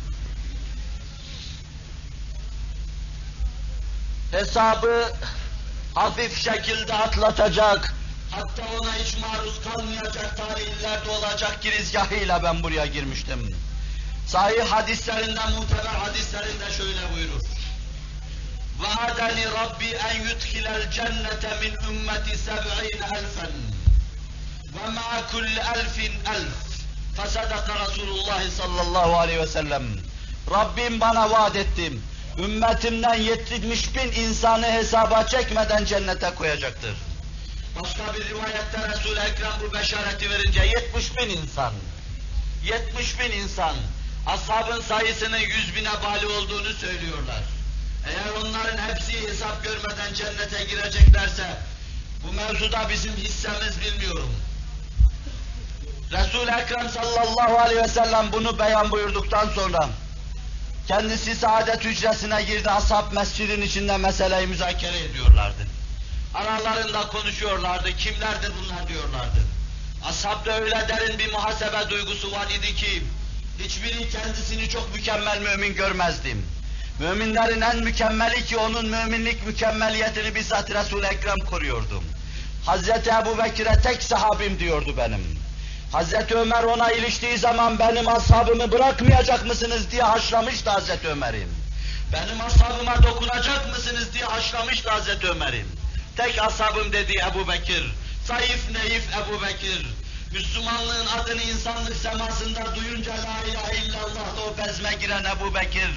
Hesabı hafif şekilde atlatacak, hatta ona hiç maruz kalmayacak tarihlerde olacak girizgahıyla ben buraya girmiştim. Sahih hadislerinde, muteber hadislerinde şöyle buyurur. وَعَدَنِ رَبِّي اَنْ يُدْخِلَ الْجَنَّةَ مِنْ اُمَّةِ سَبْعِينَ أَلْفًا وَمَعَ كُلِّ أَلْفٍ أَلْفٍ فَصَدَقَ رَسُولُ اللّٰهِ sallallahu aleyhi ve sellem. Rabbim bana vaat ettim. Ümmetimden yetmiş bin insanı hesaba çekmeden cennete koyacaktır. Başka bir rivayette Resul-i Ekrem bu beşareti verince yetmiş bin insan. yetmiş bin insan. Ashabın sayısının yüz bine bali olduğunu söylüyorlar. Eğer onların hepsi hesap görmeden cennete gireceklerse, bu mevzuda bizim hissemiz bilmiyorum. Resul-i Ekrem sallallahu aleyhi ve sellem bunu beyan buyurduktan sonra, kendisi saadet hücresine girdi, ashab mescidin içinde meseleyi müzakere ediyorlardı. Aralarında konuşuyorlardı, kimlerdir bunlar diyorlardı. Ashabda öyle derin bir muhasebe duygusu var idi ki, hiçbiri kendisini çok mükemmel mümin görmezdim. Müminlerin en mükemmeli ki onun müminlik mükemmeliyetini bizzat Resul-i Ekrem koruyordu. Hazreti Ebu Bekir'e tek sahabim diyordu benim. Hazreti Ömer ona iliştiği zaman benim ashabımı bırakmayacak mısınız diye haşlamıştı Hazreti Ömer'im. Benim ashabıma dokunacak mısınız diye haşlamıştı Hazreti Ömer'im. Tek ashabım dedi Ebu Bekir. Zayıf neif Ebu Bekir. Müslümanlığın adını insanlık semasında duyunca la ilahe illallah'la o bezme giren Ebu Bekir.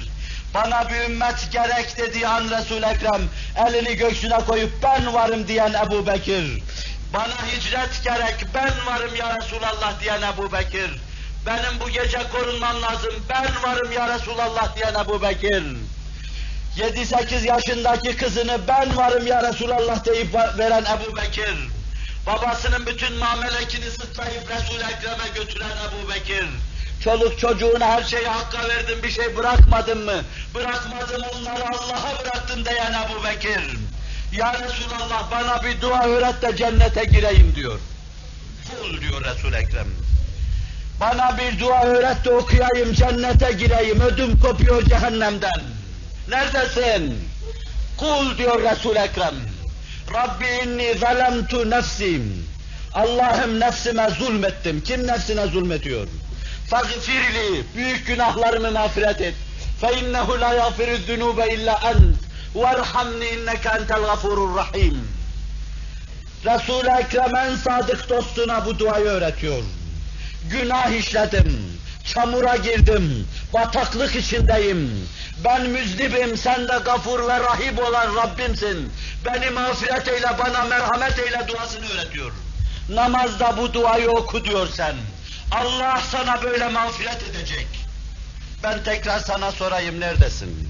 Bana bir ümmet gerek dediği an Resul-i Ekrem elini göğsüne koyup ben varım diyen Ebu Bekir. Bana hicret gerek, ben varım ya Resulallah diyen Ebu Bekir. Benim bu gece korunmam lazım, ben varım ya Resulallah diyen Ebu Bekir. Yedi sekiz yaşındaki kızını ben varım ya Resulallah deyip veren Ebu Bekir. Babasının bütün mamelekini sıtlayıp Resul-i Ekrem'e götüren Ebu Bekir. Çoluk çocuğuna her şeyi hakka verdim, bir şey bırakmadın mı? Bırakmadım, onları Allah'a bıraktım diyen Ebu Bekir. Ya Resulallah bana bir dua öğret de cennete gireyim diyor. Kul diyor Resul-i Ekrem. Bana bir dua öğret de okuyayım, cennete gireyim, ödüm kopuyor cehennemden. Neredesin? Kul diyor Resul-i Ekrem. Rabbi inni zalemtu nefsim. Allah'ım nefsime zulmettim. Kim nefsine zulmediyor? Fagfirli, büyük günahlarımı mağfiret et. Fe innehu la yaghfiru'z zunube illa ent. Verhamni inneke entel gafurur rahim. Resul-i Ekrem en sadık dostuna bu duayı öğretiyor. Günah işledim, çamura girdim, bataklık içindeyim. Ben müznibim, sen de gafur ve rahim olan Rabbimsin. Beni mağfiret eyle, bana merhamet eyle duasını öğretiyor. Namazda bu duayı oku diyor sen. Allah sana böyle mağfiret edecek. Ben tekrar sana sorayım, neredesin?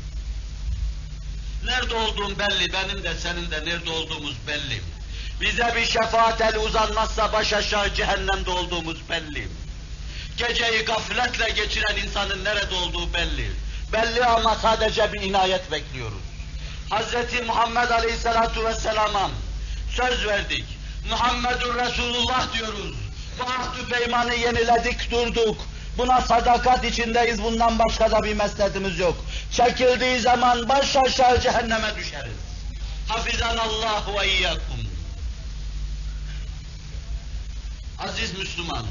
Nerede olduğum belli, benim de senin de nerede olduğumuz belli. Bize bir şefaat eli uzanmazsa baş aşağı cehennemde olduğumuz belli. Geceyi gafletle geçiren insanın nerede olduğu belli. Belli ama sadece bir inayet bekliyoruz. Hazreti Muhammed Aleyhisselatu Vesselam'a söz verdik. Muhammedur Resulullah diyoruz. Bu ahd-ı peymanı yeniledik, durduk. Buna sadakat içindeyiz, bundan başka da bir mesledimiz yok. Çekildiği zaman baş aşağı cehenneme düşeriz. Hafizanallahu ve iyyakum. Aziz Müslüman,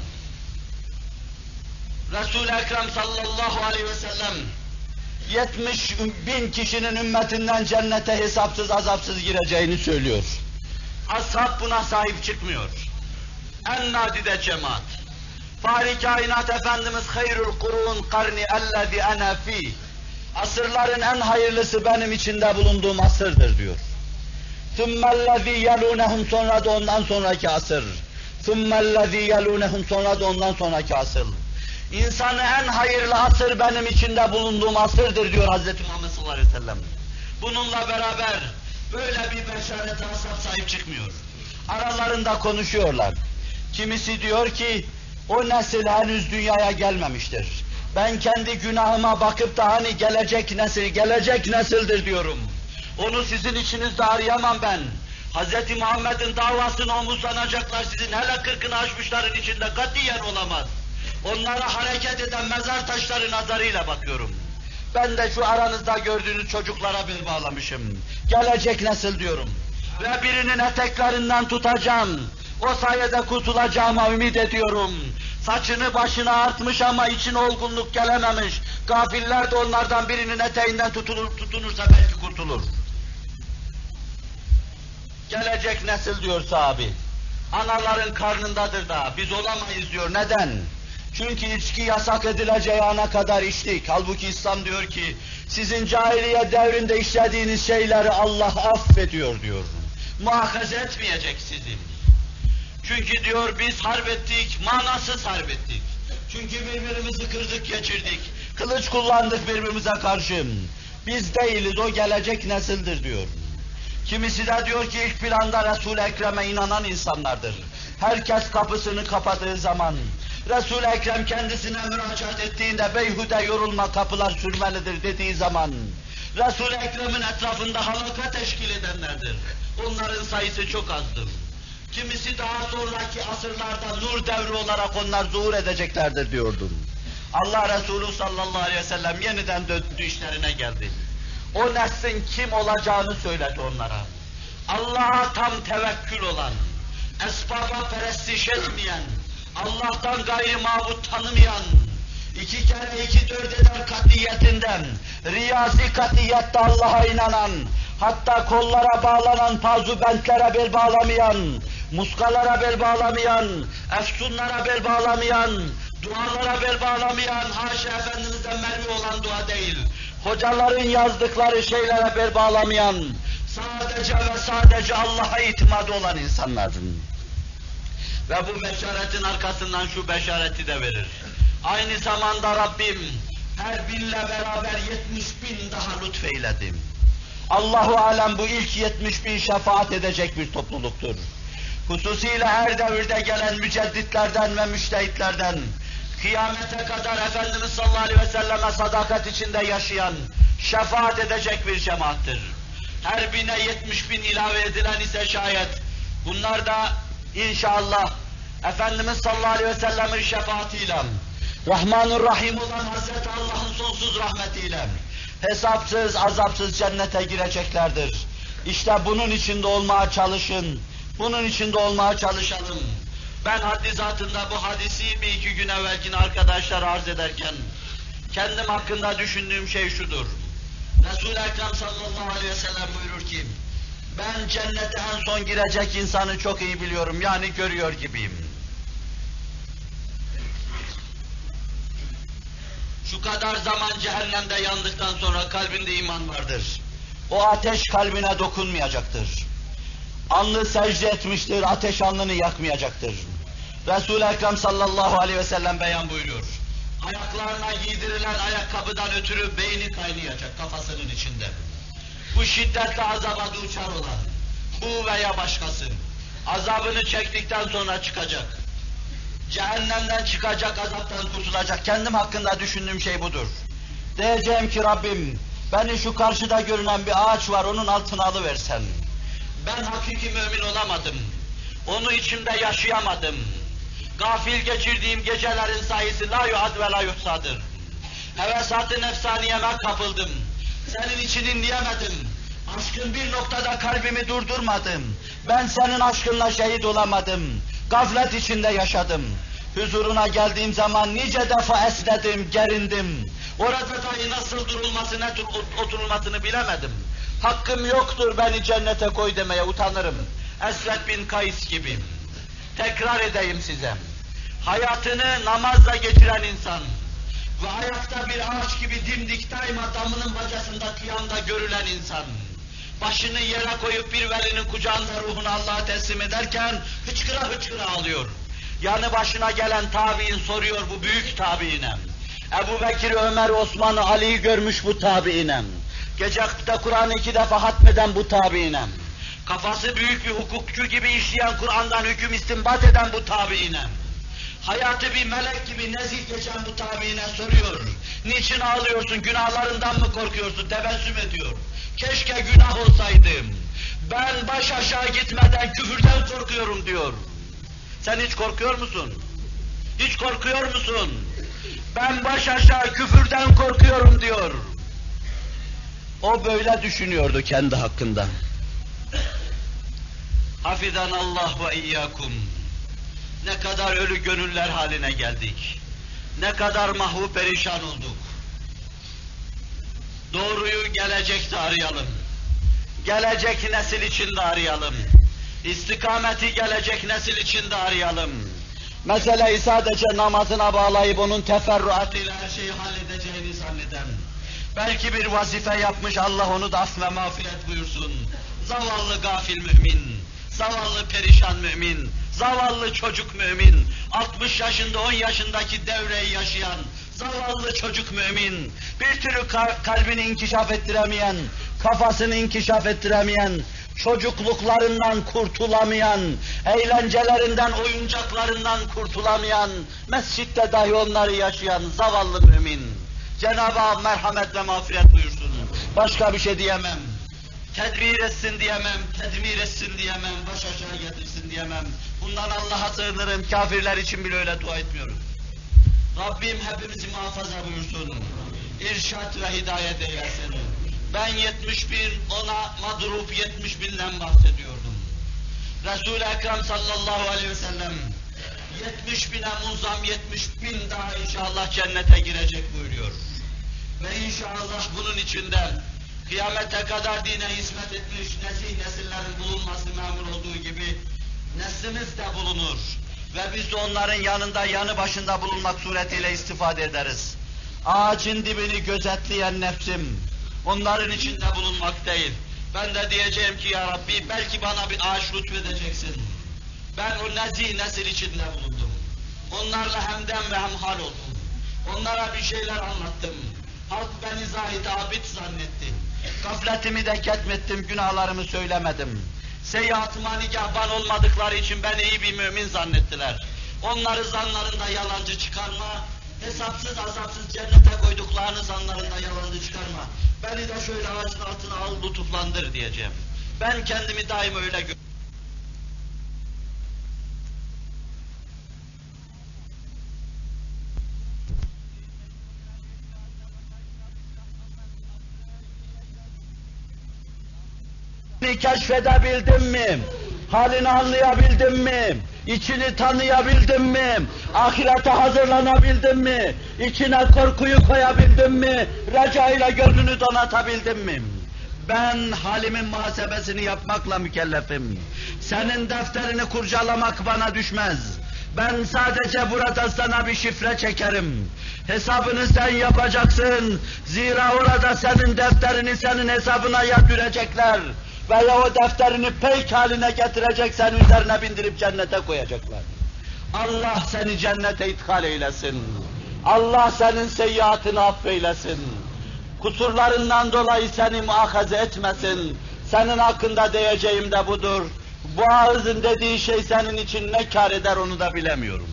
Resul-i Ekrem sallallahu aleyhi ve sellem yetmiş bin kişinin ümmetinden cennete hesapsız azapsız gireceğini söylüyor. Ashab buna sahip çıkmıyor. En nadide cemaat. Fahri kainat Efendimiz hayrul kurun karni ellezî ene fî. Asırların en hayırlısı benim içinde bulunduğum asırdır diyor. Thummellezî yelûnehum, sonra da ondan sonraki asır. Thummellezî yelûnehum, sonra da ondan sonraki asır. İnsanı en hayırlı asır benim içinde bulunduğum asırdır diyor Hazreti Muhammed sallallahu aleyhi ve sellem. Bununla beraber böyle bir beşarete ashab sahip çıkmıyor. Aralarında konuşuyorlar. Kimisi diyor ki o nesil henüz dünyaya gelmemiştir. Ben kendi günahıma bakıp da hani gelecek nesil, gelecek nesildir diyorum. Onu sizin içinizde arayamam ben. Hazreti Muhammed'in davasını omuzlanacaklar, sizin hele kırkını aşmışların içinde katiyen olamaz. Onlara hareket eden mezar taşları nazarıyla bakıyorum. Ben de şu aranızda gördüğünüz çocuklara bel bağlamışım. Gelecek nesil diyorum. Ve birinin eteklerinden tutacağım. O sayede kurtulacağıma ümit ediyorum. Saçını başına artmış ama için olgunluk gelememiş. Gafiller de onlardan birinin eteğinden tutulur, tutunursa belki kurtulur. Gelecek nesil diyor sahabi. Anaların karnındadır da biz olamayız diyor. Neden? Çünkü içki yasak edileceği ana kadar içtik. Halbuki İslam diyor ki sizin cahiliye devrinde işlediğiniz şeyleri Allah affediyor diyor. Muhakaze etmeyecek sizi. Çünkü diyor biz harp ettik, manasız harp ettik. Çünkü birbirimizi kırdık geçirdik. Kılıç kullandık birbirimize karşı. Biz değiliz, o gelecek nesildir diyor. Kimisi de diyor ki ilk planda Resul-i Ekrem'e inanan insanlardır. Herkes kapısını kapadığı zaman, Resul-i Ekrem kendisine müracaat ettiğinde beyhude yorulma, kapılar sürmelidir dediği zaman, Resul-i Ekrem'in etrafında halaka teşkil edenlerdir. Onların sayısı çok azdır. Kimisi daha sonraki asırlarda nur devri olarak onlar zuhur edeceklerdir diyordum. Allah Resulü sallallahu aleyhi ve sellem yeniden döndü, işlerine geldi. O neslin kim olacağını söyledi onlara. Allah'a tam tevekkül olan, esbaba perestiş etmeyen, Allah'tan gayri mabut tanımayan, iki kere iki dört eder katiyetinden, riyasi katiyette Allah'a inanan, hatta kollara bağlanan pazubentlere bel bağlamayan, muskalara bel bağlamayan, efsunlara bel bağlamayan, dualara bel bağlamayan, haşa Efendimiz'den mermi olan dua değil, hocaların yazdıkları şeylere bel bağlamayan, sadece ve sadece Allah'a itimadı olan insanlardır. Ve bu beşaretin arkasından şu beşareti de verir. Aynı zamanda Rabbim her binle beraber yetmiş bin daha lütfeyledim. Allahu alem bu ilk yetmiş bin şefaat edecek bir topluluktur. Hususiyle her devirde gelen mücedditlerden ve müştehitlerden, kıyamete kadar Efendimiz sallallahu aleyhi ve selleme sadakat içinde yaşayan, şefaat edecek bir cemaattir. Her bine yetmiş bin ilave edilen ise şayet, bunlar da inşallah Efendimiz sallallahu aleyhi ve sellemin şefaatiyle, Rahmanur Rahim olan Hazreti Allah'ın sonsuz rahmetiyle, hesapsız, azapsız cennete gireceklerdir. İşte bunun içinde olmaya çalışın, bunun içinde olmaya çalışalım. Ben haddi zatında bu hadisi bir iki gün evvelkine arkadaşlar arz ederken, kendim hakkında düşündüğüm şey şudur. Resul-i Ekrem sallallahu aleyhi ve sellem buyurur ki, ben cennete en son girecek insanı çok iyi biliyorum, yani görüyor gibiyim. Şu kadar zaman cehennemde yandıktan sonra kalbinde iman vardır. O ateş kalbine dokunmayacaktır. Alnı secde etmiştir, ateş alnını yakmayacaktır. Resul-i Ekrem sallallahu aleyhi ve sellem beyan buyuruyor. Ayaklarına giydirilen ayakkabıdan ötürü beyni kaynayacak kafasının içinde. Bu şiddetle azaba duçar olan, bu veya başkası, azabını çektikten sonra çıkacak. Cehennemden çıkacak, azaptan kurtulacak. Kendim hakkında düşündüğüm şey budur. Diyeceğim ki Rabbim, beni şu karşıda görünen bir ağaç var, onun altına alıversen. Ben hakiki mümin olamadım. Onu içimde yaşayamadım. Gafil geçirdiğim gecelerin sayısı la yuad ve la yuhsadır. Hevesat-ı nefsaniyeme kapıldım. Senin için dinleyemedim. Aşkın bir noktada kalbimi durdurmadım. Ben senin aşkınla şehit olamadım. Gaflet içinde yaşadım. Huzuruna geldiğim zaman nice defa esnedim, gerindim. Orada dahi nasıl durulması, ne tür oturulmasını bilemedim. Hakkım yoktur beni cennete koy demeye utanırım. Esved bin Kays gibi. Tekrar edeyim size. Hayatını namazla geçiren insan ve ayakta bir ağaç gibi dimdik daima damının bacasında kıyamda görülen insan, başını yere koyup bir velinin kucağında ruhunu Allah'a teslim ederken hıçkıra hıçkıra ağlıyor. Yanı başına gelen tabiin soruyor bu büyük tabiine. Ebu Bekir, Ömer, Osman'ı, Ali'yi görmüş bu tabiine. Gecekte Kur'an'ı iki defa hatmeden bu tabiine. Kafası büyük bir hukukçu gibi işleyen, Kur'an'dan hüküm istinbat eden bu tabiine. Hayatı bir melek gibi nezih geçen bu tabiine soruyor. Niçin ağlıyorsun, günahlarından mı korkuyorsun? Tebessüm ediyor. Keşke günah olsaydım. Ben baş aşağı gitmeden küfürden korkuyorum diyor. Sen hiç korkuyor musun? Hiç korkuyor musun? Ben baş aşağı küfürden korkuyorum diyor. O böyle düşünüyordu kendi hakkında. Hafizan Allah ve iyyakum. Ne kadar ölü gönüller haline geldik. Ne kadar mahvu perişan olduk. Doğruyu gelecekte arayalım. Gelecek nesil için de arayalım. İstikameti gelecek nesil için de arayalım. Meseleyi sadece namazına bağlayıp onun teferruatıyla her şeyi halledeceğini zanneden, belki bir vazife yapmış, Allah onu da af ve mağfiret buyursun. Zavallı gafil mümin, zavallı perişan mümin, zavallı çocuk mümin, altmış yaşında on yaşındaki devreyi yaşayan, zavallı çocuk mümin, bir türlü kalbini inkişaf ettiremeyen, kafasını inkişaf ettiremeyen, çocukluklarından kurtulamayan, eğlencelerinden, oyuncaklarından kurtulamayan, mescitte dahi onları yaşayan zavallı mümin. Cenab-ı Hak merhamet ve mağfiret buyursun. Başka bir şey diyemem. Tedbir etsin diyemem, tedmir etsin diyemem, baş aşağı getirsin diyemem. Bundan Allah'a sığınırım, kafirler için bile öyle dua etmiyorum. Rabbim hepimizi muhafaza buyursun. İrşad ve hidayet eylesin. Ben yetmiş bin, ona madrup yetmiş binden bahsediyordum. Resul-i Ekrem sallallahu aleyhi ve sellem yetmiş bine munzam yetmiş bin daha inşallah cennete girecek buyuruyor. Ve inşallah bunun içinde kıyamete kadar dine hizmet etmiş nesih nesillerin bulunması memur olduğu gibi neslimiz de bulunur. Ve biz de onların yanında, yanı başında bulunmak suretiyle istifade ederiz. ağacın dibini gözetleyen nefsim, onların içinde bulunmak değil. Ben de diyeceğim ki ya Rabbi, belki bana bir ağaç lütfedeceksin. Ben o nezih nesil içinde bulundum. Onlarla hemdem ve hemhal oldum. Onlara bir şeyler anlattım. Halk beni zahid abid zannetti. Gafletimi de ketmettim, günahlarımı söylemedim. Seyyiatıma nigahban olmadıkları için beni iyi bir mümin zannettiler. Onları zanlarında yalancı çıkarma, hesapsız azapsız cennete koyduklarını zanlarında yalancı çıkarma. Beni de şöyle ağacın altına al, lütuflandır diyeceğim. Ben kendimi daima öyle görüyorum. Keşfedebildim mi? Halini anlayabildim mi? İçini tanıyabildim mi? Ahirete hazırlanabildim mi? İçine korkuyu koyabildim mi? Reca ile gönlünü donatabildim mi? Ben halimin muhasebesini yapmakla mükellefim. Senin defterini kurcalamak bana düşmez. Ben sadece burada sana bir şifre çekerim. Hesabını sen yapacaksın. Zira orada senin defterini senin hesabına yatıracaklar. Veya o defterini peyk haline getirecek, seni üzerine bindirip cennete koyacaklar. Allah seni cennete ithal eylesin. Allah senin seyyiatını affeylesin. Kusurlarından dolayı seni muahaze etmesin. Senin hakkında diyeceğim de budur. Bu ağızın dediği şey senin için ne kâr eder onu da bilemiyorum.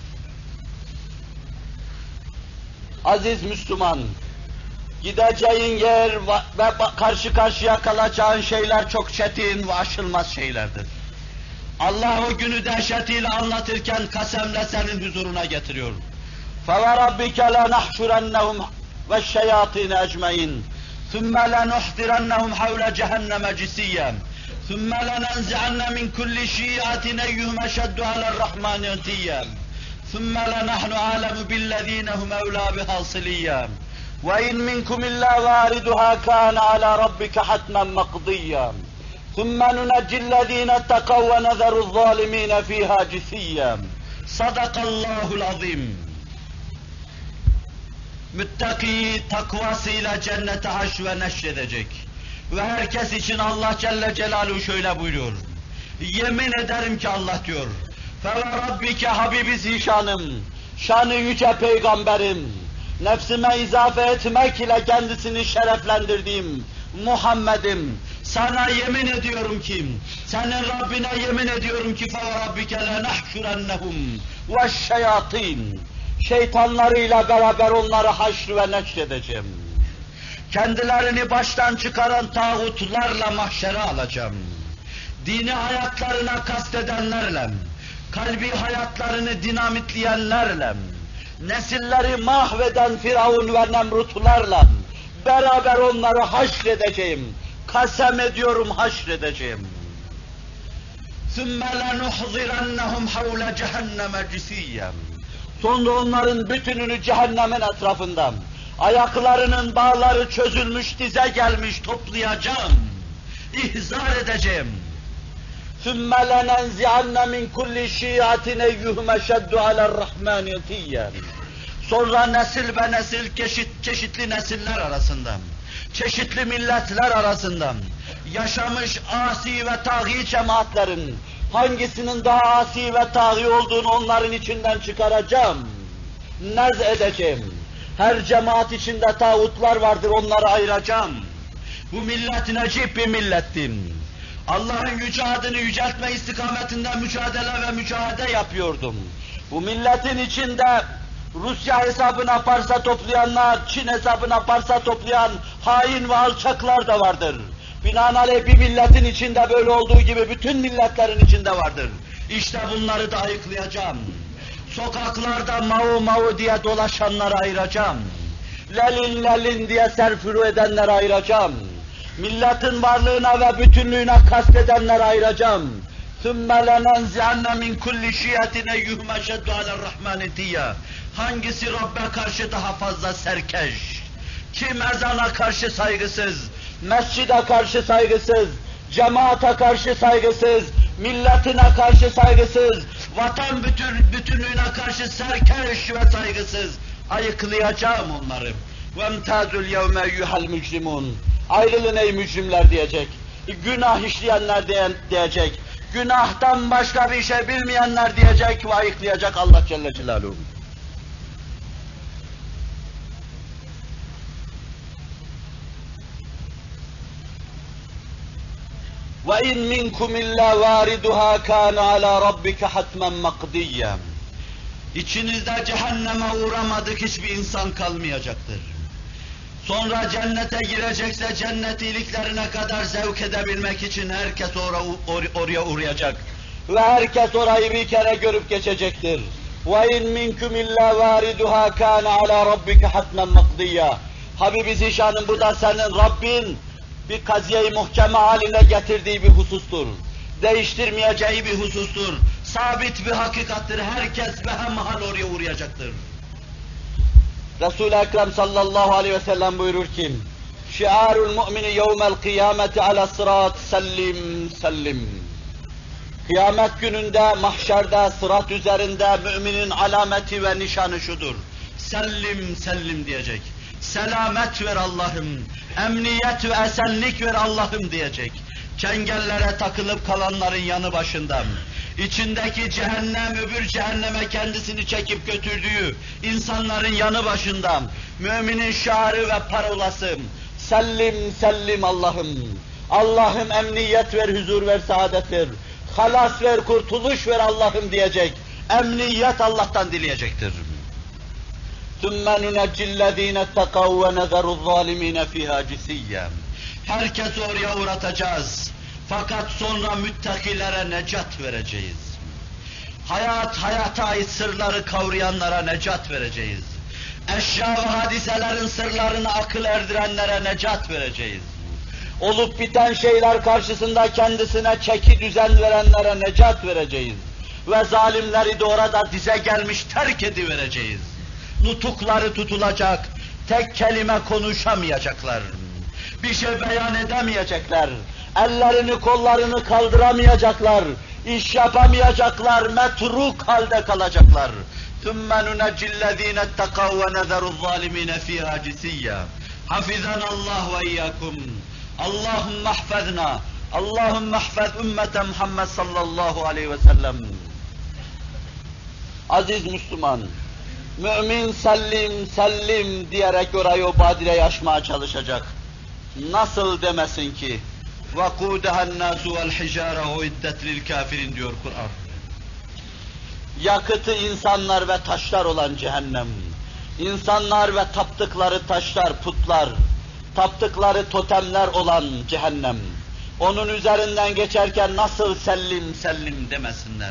Aziz Müslüman, gideceğin yer ve karşı karşıya kalacağın şeyler çok çetin ve aşılmaz şeylerdir. Allah o günü dehşetiyle anlatırken kasemle senin huzuruna getiriyor. فَوَرَبِّكَ لَنَحْشُرَنَّهُمْ وَالشَّيَاطِينَ اَجْمَعِينَ ثُمَّ لَنُحْضِرَنَّهُمْ حَوْلَ جَهَنَّمَ جِثِيًّا ثُمَّ لَنَنْزِعَنَّ مِنْ كُلِّ شِيعَةٍ أَيُّهُمْ أَشَدُّ عَلَى الرَّحْمَنِ عِتِيًّا ثُمَّ لَنَحْنُ أَعْلَمُ بِالَّذِينَ هُمْ أَوْلَى بِهَا صِلِيًّا وَإِنْ مِنْكُمْ إِلَّا وَارِدُهَا كَانَ عَلَى رَبِّكَ حَتْمًا مَقْضِيًّا ثُمَّ نُنَجِّي الَّذِينَ اتَّقَوْا وَنَذَرُ الظَّالِمِينَ فِيهَا جِثِيًّا صَدَقَ اللّٰهُ الْعَظِيمُ. Müttaki takvasıyla cennete haş ve neşredecek. Ve herkes için Allah Celle Celaluhu şöyle buyuruyor. Yemin ederim ki Allah diyor. فَوَرَبِّكَ Habibi Zişanım, şanı yüce peygamberim, nefsime izafe etmek ile kendisini şereflendirdiğim Muhammed'im, sana yemin ediyorum ki, senin Rabbine yemin ediyorum ki فَوَرَبِّكَ لَنَحْشُرَنَّهُمْ وَالشَّيَاطِينَ şeytanlarıyla beraber onları haşr ve neşredeceğim. Kendilerini baştan çıkaran tağutlarla mahşere alacağım. Dini hayatlarına kastedenlerle, kalbi hayatlarını dinamitleyenlerle, nesilleri mahveden Firavun ve Nemrutlarla beraber onları haşredeceğim. Kasem ediyorum haşredeceğim. ثُمَّ لَنُحْضِرَنَّهُمْ حَوْلَ جَهَنَّمَ جِثِيًّا Sonra onların bütününü cehennemin etrafından, ayaklarının bağları çözülmüş, dize gelmiş toplayacağım, ihzar edeceğim. ثُمَّ لَنَنْزِعَنَّ مِنْ كُلِّ شِيعَةٍ اَيُّهُمْ اَشَدُّ عَلَى الرَّحْمَانِ عِتِيًّا Sonra nesil ve nesil, çeşit, çeşitli nesiller arasından, çeşitli milletler arasından, yaşamış asi ve tağî cemaatlerin, hangisinin daha asi ve tağî olduğunu onların içinden çıkaracağım, nez edeceğim. Her cemaat içinde tağutlar vardır, onları ayıracağım. Bu millet necip bir millettim. Allah'ın yüce adını yüceltme istikametinde mücadele ve mücahede yapıyordum. Bu milletin içinde Rusya hesabına parsa toplayanlar, Çin hesabına parsa toplayan hain ve alçaklar da vardır. Binaenaleyh bir milletin içinde böyle olduğu gibi bütün milletlerin içinde vardır. İşte bunları da ayıklayacağım. Sokaklarda mau mau diye dolaşanları ayıracağım. Lelin lelin diye serfuru edenleri ayıracağım. Milletin varlığına ve bütünlüğüne kastedenleri ayıracağım. ثُمَّ لَنَنْزِعَنَّ مِنْ كُلِّ شِيَةٍ اَيُّهُمْ اَشَدُّ عَلَى الرَّحْمَانِ عِتِيًّا Hangisi Rabbe karşı daha fazla serkeş? Kim ezana karşı saygısız, mescide karşı saygısız, cemaate karşı saygısız, milletine karşı saygısız, vatan bütün, bütünlüğüne karşı serkeş ve saygısız? Ayıklayacağım onları. وَاَمْتَازُ الْيَوْمَ اَيُّهَا الْمُجْرِمُونَ Ayrılın ey mücrimler diyecek. Günah işleyenler diye, diyecek. Günahtan başka bir şey bilmeyenler diyecek ve ayıklayacak Allah Celle Celaluhu. وَاِنْ مِنْكُمْ اِلَّا وَارِدُهَا كَانَ عَلَى رَبِّكَ حَتْمًا مَقْضِيًّا İçinizde cehenneme uğramadık hiçbir insan kalmayacaktır. Sonra cennete girecekse cennet iyiliklerine kadar zevk edebilmek için herkes or or oraya uğrayacak. Ve herkes orayı bir kere görüp geçecektir. وَاِنْ مِنْكُمْ اِلَّا وَارِدُهَا كَانَ عَلَى رَبِّكَ حَتْمًا مَقْضِيًّا Habibi Zişan'ın bu da senin Rabbin bir kaziye-i muhkeme haline getirdiği bir husustur. Değiştirmeyeceği bir husustur. Sabit bir hakikattir. Herkes behemhal oraya uğrayacaktır. Resul-i Ekrem sallallahu aleyhi ve sellem buyurur ki, şiarul mu'mini yevmel kıyameti ala sırat sellim sellim. Kıyamet gününde, mahşerde, sırat üzerinde müminin alameti ve nişanı şudur. Sellim sellim diyecek. Selamet ver Allah'ım, emniyet ve esenlik ver Allah'ım diyecek. Çengellere takılıp kalanların yanı başında, içindeki cehennem öbür cehenneme kendisini çekip götürdüğü insanların yanı başında, müminin şiarı ve parolası, sellim sellim Allah'ım, Allah'ım emniyet ver, huzur ver, saadet ver, halas ver, kurtuluş ver Allah'ım diyecek, emniyet Allah'tan dileyecektir. ثُمَّ نُنَجِّ الَّذ۪ينَ اتَّقَوْا وَنَذَرُ الظَّالِم۪ينَ فِيهَا جِسِيًّا Herkesi oraya uğratacağız. Fakat sonra müttakilere necat vereceğiz. Hayat, hayata ait sırları kavrayanlara necat vereceğiz. Eşya ve hadiselerin sırlarını akıl erdirenlere necat vereceğiz. Olup biten şeyler karşısında kendisine çeki düzen verenlere necat vereceğiz. Ve zalimleri de orada dize gelmiş terk edivereceğiz. Nutukları tutulacak, tek kelime konuşamayacaklar. Bir şey beyan edemeyecekler. Ellerini kollarını kaldıramayacaklar. İş yapamayacaklar, metruk halde kalacaklar. ثُمَّ نُنَجِّ الَّذ۪ينَ اتَّقَوْا وَنَذَرُ الظَّالِم۪ينَ فِيهَا جِسِيًّا حَفِظَنَا اللّٰهُ وَاِيَّاكُمْ اللّٰهُمَّ احْفَظْنَا اللّٰهُمَّ احْفَظْ ümmete Muhammed sallallahu aleyhi ve sellem. Aziz Müslüman, mümin sellim sellim diyerek orayı o badireyi aşmaya çalışacak. Nasıl demesin ki? وَقُودَهَا النَّاسُ وَالْحِجَارَ اُعِدَّتْ لِلْكَافِرِينَ diyor Kur'an. Yakıtı insanlar ve taşlar olan cehennem. İnsanlar ve taptıkları taşlar, putlar, taptıkları totemler olan cehennem. Onun üzerinden geçerken nasıl sellim sellim demesinler.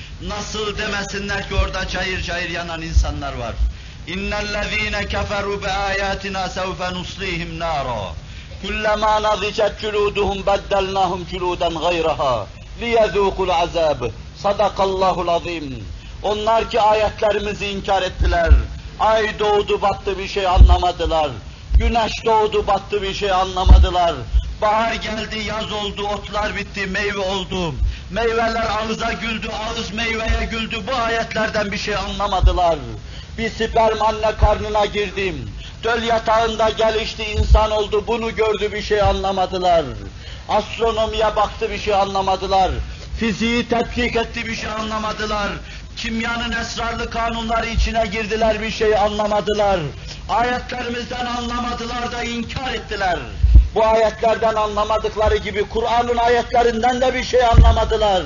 Nasıl demesinler ki orada cayır cayır yanan insanlar var. İnnellezîne keferû beâyâtinâ sevfe nuslîhim nârâ. Kullemâ nazicet cülûduhum beddelnâhum cülûden gayrahâ. Liyezûkul azâb. Sadakallâhul azîm. Onlar ki ayetlerimizi inkar ettiler. Ay doğdu battı bir şey anlamadılar. Güneş doğdu battı bir şey anlamadılar. Bahar geldi, yaz oldu, otlar bitti, meyve oldu. Meyveler ağıza güldü, ağız meyveye güldü. Bu ayetlerden bir şey anlamadılar. Bir sperm anne karnına girdim. Döl yatağında gelişti, insan oldu, bunu gördü, bir şey anlamadılar. Astronomiye baktı, bir şey anlamadılar. Fiziği tetkik etti, bir şey anlamadılar. Kimyanın esrarlı kanunları içine girdiler, bir şey anlamadılar. Ayetlerimizden anlamadılar da inkar ettiler. Bu ayetlerden anlamadıkları gibi Kur'an'ın ayetlerinden de bir şey anlamadılar.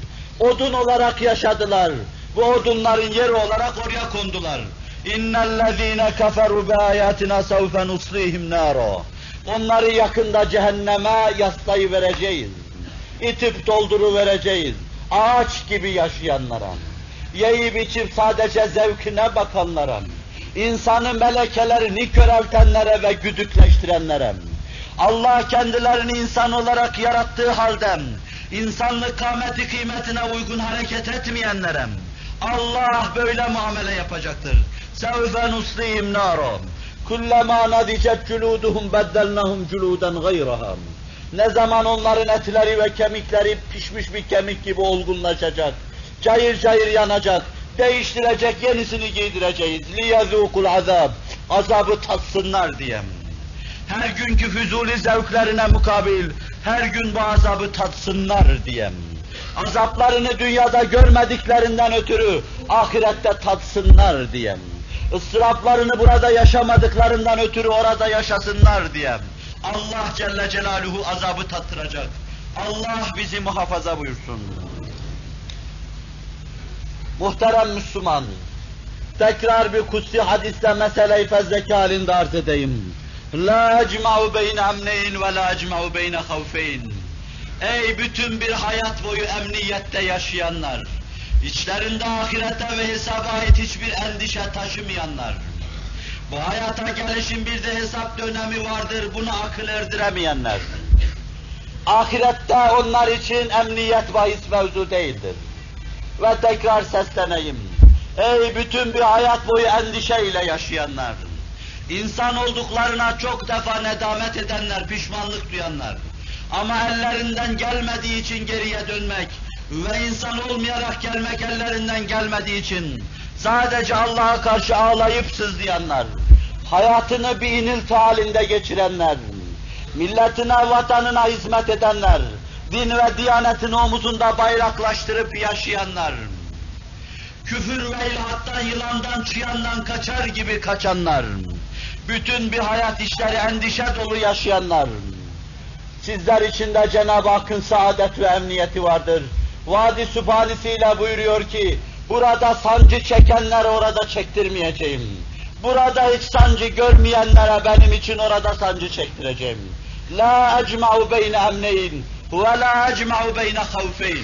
Odun olarak yaşadılar. Bu odunların yeri olarak oraya kondular. İnnellezîne keferû beâyâtinâ sevfe nuslîhim nârâ. Onları yakında cehenneme yaslayıvereceğiz. İtip dolduruvereceğiz. Ağaç gibi yaşayanlara, yiyip içip sadece zevkine bakanlara, insanı melekelerini köreltenlere ve güdükleştirenlere, Allah kendilerini insan olarak yarattığı halde, insanlık kâmeti kıymetine uygun hareket etmeyenlere, Allah böyle muamele yapacaktır. سَوْفَ نُصْلِهِمْ نَارًا كُلَّمَا نَضِجَتْ جُلُودُهُمْ بَدَّلْنَاهُمْ جُلُودًا غَيْرَهَا Ne zaman onların etleri ve kemikleri pişmiş bir kemik gibi olgunlaşacak, cayır cayır yanacak, Değiştirecek, yenisini giydireceğiz. لِيَذُوقُ الْعَذَابِ Azabı tatsınlar diye. Her günkü füzuli zevklerine mukabil, her gün bu azabı tatsınlar diye. Azaplarını dünyada görmediklerinden ötürü, ahirette tatsınlar diye. Israflarını burada yaşamadıklarından ötürü orada yaşasınlar diye. Allah Celle Celaluhu azabı tattıracak. Allah bizi muhafaza buyursun. Muhterem Müslüman, tekrar bir kutsi hadiste mesele-i fezleke halinde arz edeyim. La ecma'u beyne emneyn ve la ecma'u beyne havfeyn. Ey bütün bir hayat boyu emniyette yaşayanlar, içlerinde ahirete ve hesaba ait hiçbir endişe taşımayanlar, bu hayata gelişin bir de hesap dönemi vardır, bunu akıl erdiremeyenler, ahirette onlar için emniyet bahis mevzu değildir. Ve tekrar sesleneyim, ey bütün bir hayat boyu endişeyle yaşayanlar, insan olduklarına çok defa nedamet edenler, pişmanlık duyanlar, ama ellerinden gelmediği için geriye dönmek ve insan olmayarak gelmek ellerinden gelmediği için sadece Allah'a karşı ağlayıp sızlayanlar, hayatını bir inilti halinde geçirenler, milletine, vatanına hizmet edenler, din ve diyanetini omuzunda bayraklaştırıp yaşayanlar, küfür ve ilhattan, yılandan, çıyandan kaçar gibi kaçanlar, bütün bir hayat işleri endişe dolu yaşayanlar, sizler içinde Cenab-ı Hakk'ın saadet ve emniyeti vardır. Vadi Sübhanesiyle buyuruyor ki, burada sancı çekenler orada çektirmeyeceğim. Burada hiç sancı görmeyenlere benim için orada sancı çektireceğim. La ecma'u beyne emneyn ve la ecma'u beyne havfeyn.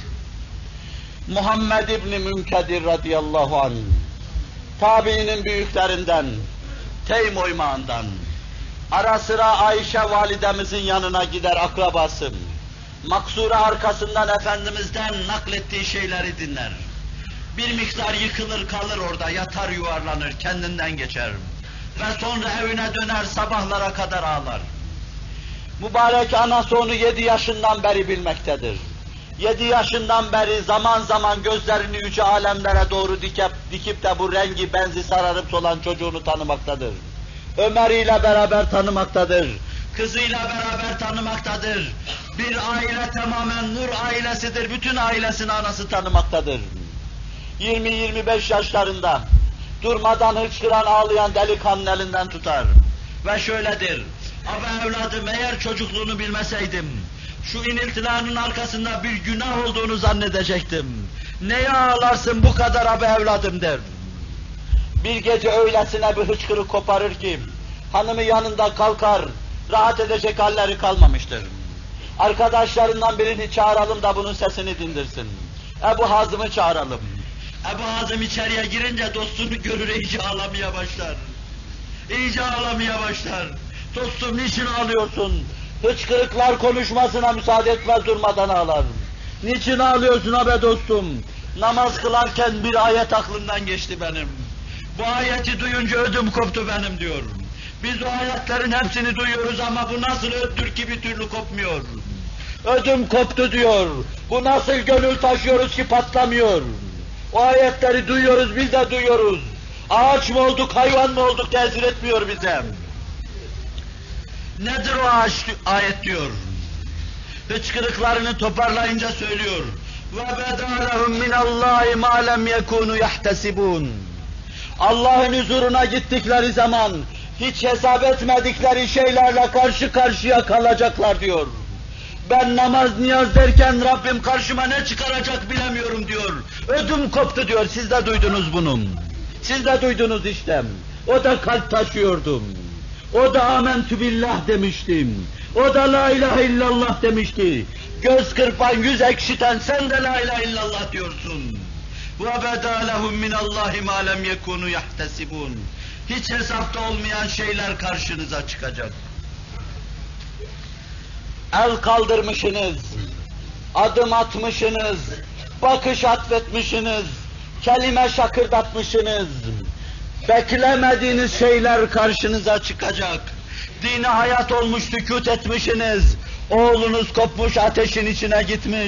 Muhammed İbni Münkedir radıyallahu anh, tabiinin büyüklerinden, Teym oymağından, ara sıra Ayşe validemizin yanına gider akrabası, maksura arkasından Efendimiz'den naklettiği şeyleri dinler. Bir miktar yıkılır kalır orada, yatar yuvarlanır, kendinden geçer. Ve sonra evine döner, sabahlara kadar ağlar. Mübarek anası onu yedi yaşından beri bilmektedir. Yedi yaşından beri zaman zaman gözlerini yüce alemlere doğru dikip, dikip de bu rengi benzi sararıp solan çocuğunu tanımaktadır. Ömer ile beraber tanımaktadır. Kızıyla beraber tanımaktadır. Bir aile tamamen nur ailesidir. Bütün ailesini anası tanımaktadır. yirmi yirmi beş yaşlarında durmadan hıçkıran ağlayan delikanlı elinden tutar. Ve şöyledir. Abi evladım, eğer çocukluğunu bilmeseydim, şu iniltilerinin arkasında bir günah olduğunu zannedecektim. Neye ağlarsın bu kadar abi evladım der. Bir gece öylesine bir hıçkırık koparır ki, hanımı yanında kalkar, rahat edecek halleri kalmamıştır. Arkadaşlarından birini çağıralım da bunun sesini dindirsin. Ebu Hazım'ı çağıralım. Ebu Hazım içeriye girince dostunu görür, iyice ağlamaya başlar. İyice ağlamaya başlar. Dostum niçin ağlıyorsun? Hıçkırıklar konuşmasına müsaade etmez, durmadan ağlar. Niçin ağlıyorsun abi dostum? Namaz kılarken bir ayet aklımdan geçti benim. Bu ayeti duyunca ödüm koptu benim diyor. Biz o ayetlerin hepsini duyuyoruz ama bu nasıl öttür ki bir türlü kopmuyor. Ödüm koptu diyor. Bu nasıl gönül taşıyoruz ki patlamıyor. O ayetleri duyuyoruz, biz de duyuyoruz. Ağaç mı olduk, hayvan mı olduk tesir etmiyor bize. Nedir o ağaç, ayet diyor. Hıçkırıklarını toparlayınca söylüyor. وَبَدَا لَهُمْ مِنَ اللّٰهِ مَا لَمْ يَكُونُوا يَحْتَسِبُونَ. Allah'ın huzuruna gittikleri zaman hiç hesap etmedikleri şeylerle karşı karşıya kalacaklar diyor. Ben namaz niyaz derken Rabbim karşıma ne çıkaracak bilemiyorum diyor. Ödüm koptu diyor, siz de duydunuz bunu. Siz de duydunuz işte. O da kalp taşıyordum. O da amentü billah demiştim. O da la ilahe illallah demişti. Göz kırpan, yüz ekşiten sen de la ilahe illallah diyorsun. وَبَدَا لَهُمْ مِنَ اللّٰهِ مَا لَمْ يَكُونُوا يَحْتَسِبُونَ. Hiç hesapta olmayan şeyler karşınıza çıkacak. El kaldırmışsınız, adım atmışsınız, bakış atfetmişsiniz, kelime şakırdatmışsınız. Beklemediğiniz şeyler karşınıza çıkacak. Dine hayat olmuş, sükût etmişsiniz. Oğlunuz kopmuş, ateşin içine gitmiş.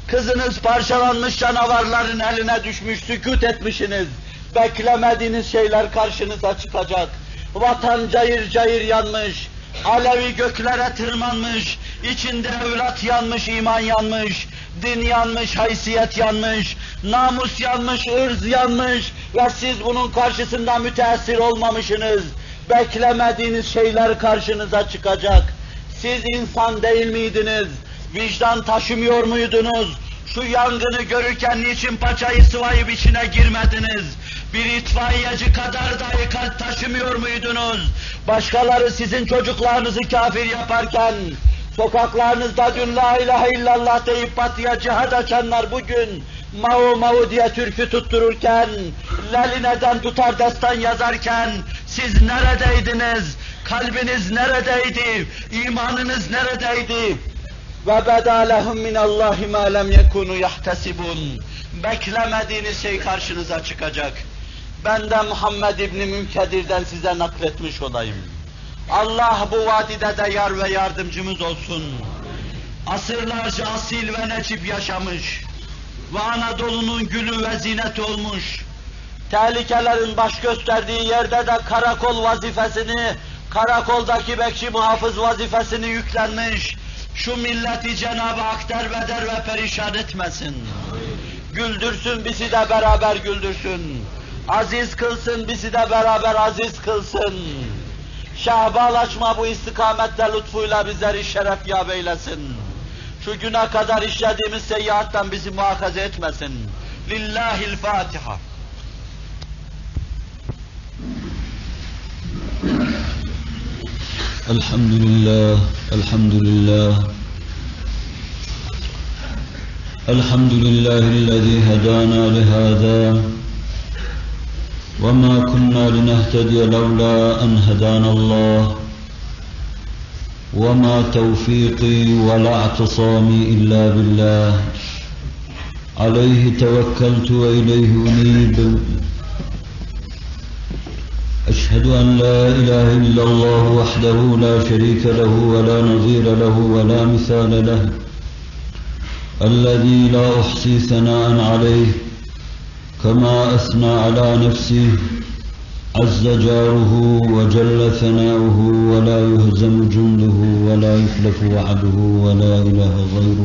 Kızınız parçalanmış canavarların eline düşmüş, sükût etmişsiniz. Beklemediğiniz şeyler karşınıza çıkacak. Vatan cayır cayır yanmış, alevi göklere tırmanmış, içinde evlat yanmış, iman yanmış, din yanmış, haysiyet yanmış, namus yanmış, ırz yanmış ve siz bunun karşısında müteessir olmamışsınız. Beklemediğiniz şeyler karşınıza çıkacak. Siz insan değil miydiniz? Vicdan taşımıyor muydunuz? Şu yangını görürken niçin paçayı sıvayıp içine girmediniz? Bir itfaiyeci kadar dahi kalp taşımıyor muydunuz? Başkaları sizin çocuklarınızı kafir yaparken, sokaklarınızda dün la ilahe illallah deyip batıya cihad açanlar bugün Mao Mao diye türkü tuttururken, Leline'den tutar destan yazarken, siz neredeydiniz? Kalbiniz neredeydi? İmanınız neredeydi? Ve beda lehum minallahi ma lem yekunu yahtesibun. Beklemediğiniz şey karşınıza çıkacak. Ben de Muhammed İbni Münkedir'den size nakletmiş olayım. Allah bu vadide de yar ve yardımcımız olsun. Asırlarca asil ve necip yaşamış ve Anadolu'nun gülü ve zineti olmuş. Tehlikelerin baş gösterdiği yerde de karakol vazifesini, karakoldaki bekçi muhafız vazifesini yüklenmiş. Şu milleti Cenab-ı Hak derbeder ve perişan etmesin. Güldürsün, bizi de beraber güldürsün. Aziz kılsın, bizi de beraber aziz kılsın. Şahbalaşma bu istikamette lütfuyla bizleri şeref yâb eylesin. Şu güne kadar işlediğimiz seyyiattan bizi muhafaza etmesin. Lillahil Fatiha. Elhamdülillah, elhamdülillah. Elhamdülillahillezî hedâna lihâzâ. وَمَا كُنَّا لِنَهْتَدِيَ لَوْلَا أَنْ هَدَانَا اللّٰهُ وَمَا تَوْفِيقِي وَلَا اعْتِصَامِي إِلَّا بِاللّٰهِ عَلَيْهِ تَوَكَّلْتُ وَإِلَيْهِ أُنِيبُ أشهد أن لا إله إلا الله وحده لا شريك له ولا نظير له ولا مثال له الذي لا أحصي ثناء عليه كما أثنى على نفسه عز جاره وجل ثناؤه ولا يهزم جنده ولا يخلف وعده ولا إله غيره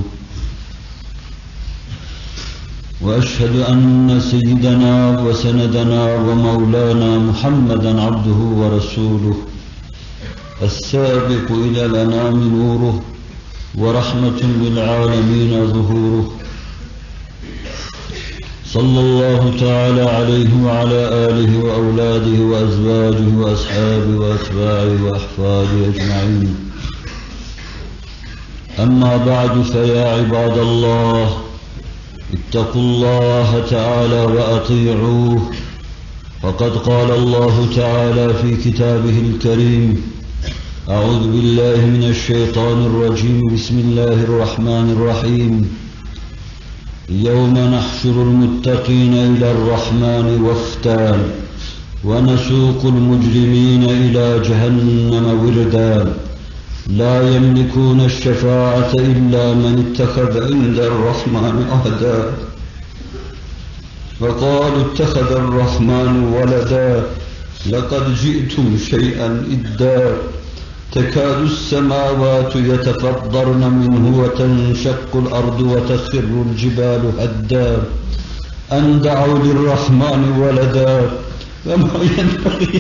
وأشهد أن سيدنا وسندنا ومولانا محمدًا عبده ورسوله السابق إلى الأنام نوره ورحمة للعالمين ظهوره صلى الله تعالى عليه وعلى آله وأولاده وأزواجه وأصحابه وأتباعه وأحفاده أجمعين أما بعد فيا عباد الله اتقوا الله تعالى وأطيعوه فقد قال الله تعالى في كتابه الكريم أعوذ بالله من الشيطان الرجيم بسم الله الرحمن الرحيم يوم نحشر المتقين إلى الرحمن وفدا ونسوق المجرمين إلى جهنم وردا لا يملكون الشفاعة إلا من اتخذ عند الرحمن عهدا وقالوا اتخذ الرحمن ولدا لقد جئتم شيئا إدا تكاد السماوات يتفطرن منه وتنشق الأرض وتخر الجبال هدا أن دعوا للرحمن ولدا وما ينبغي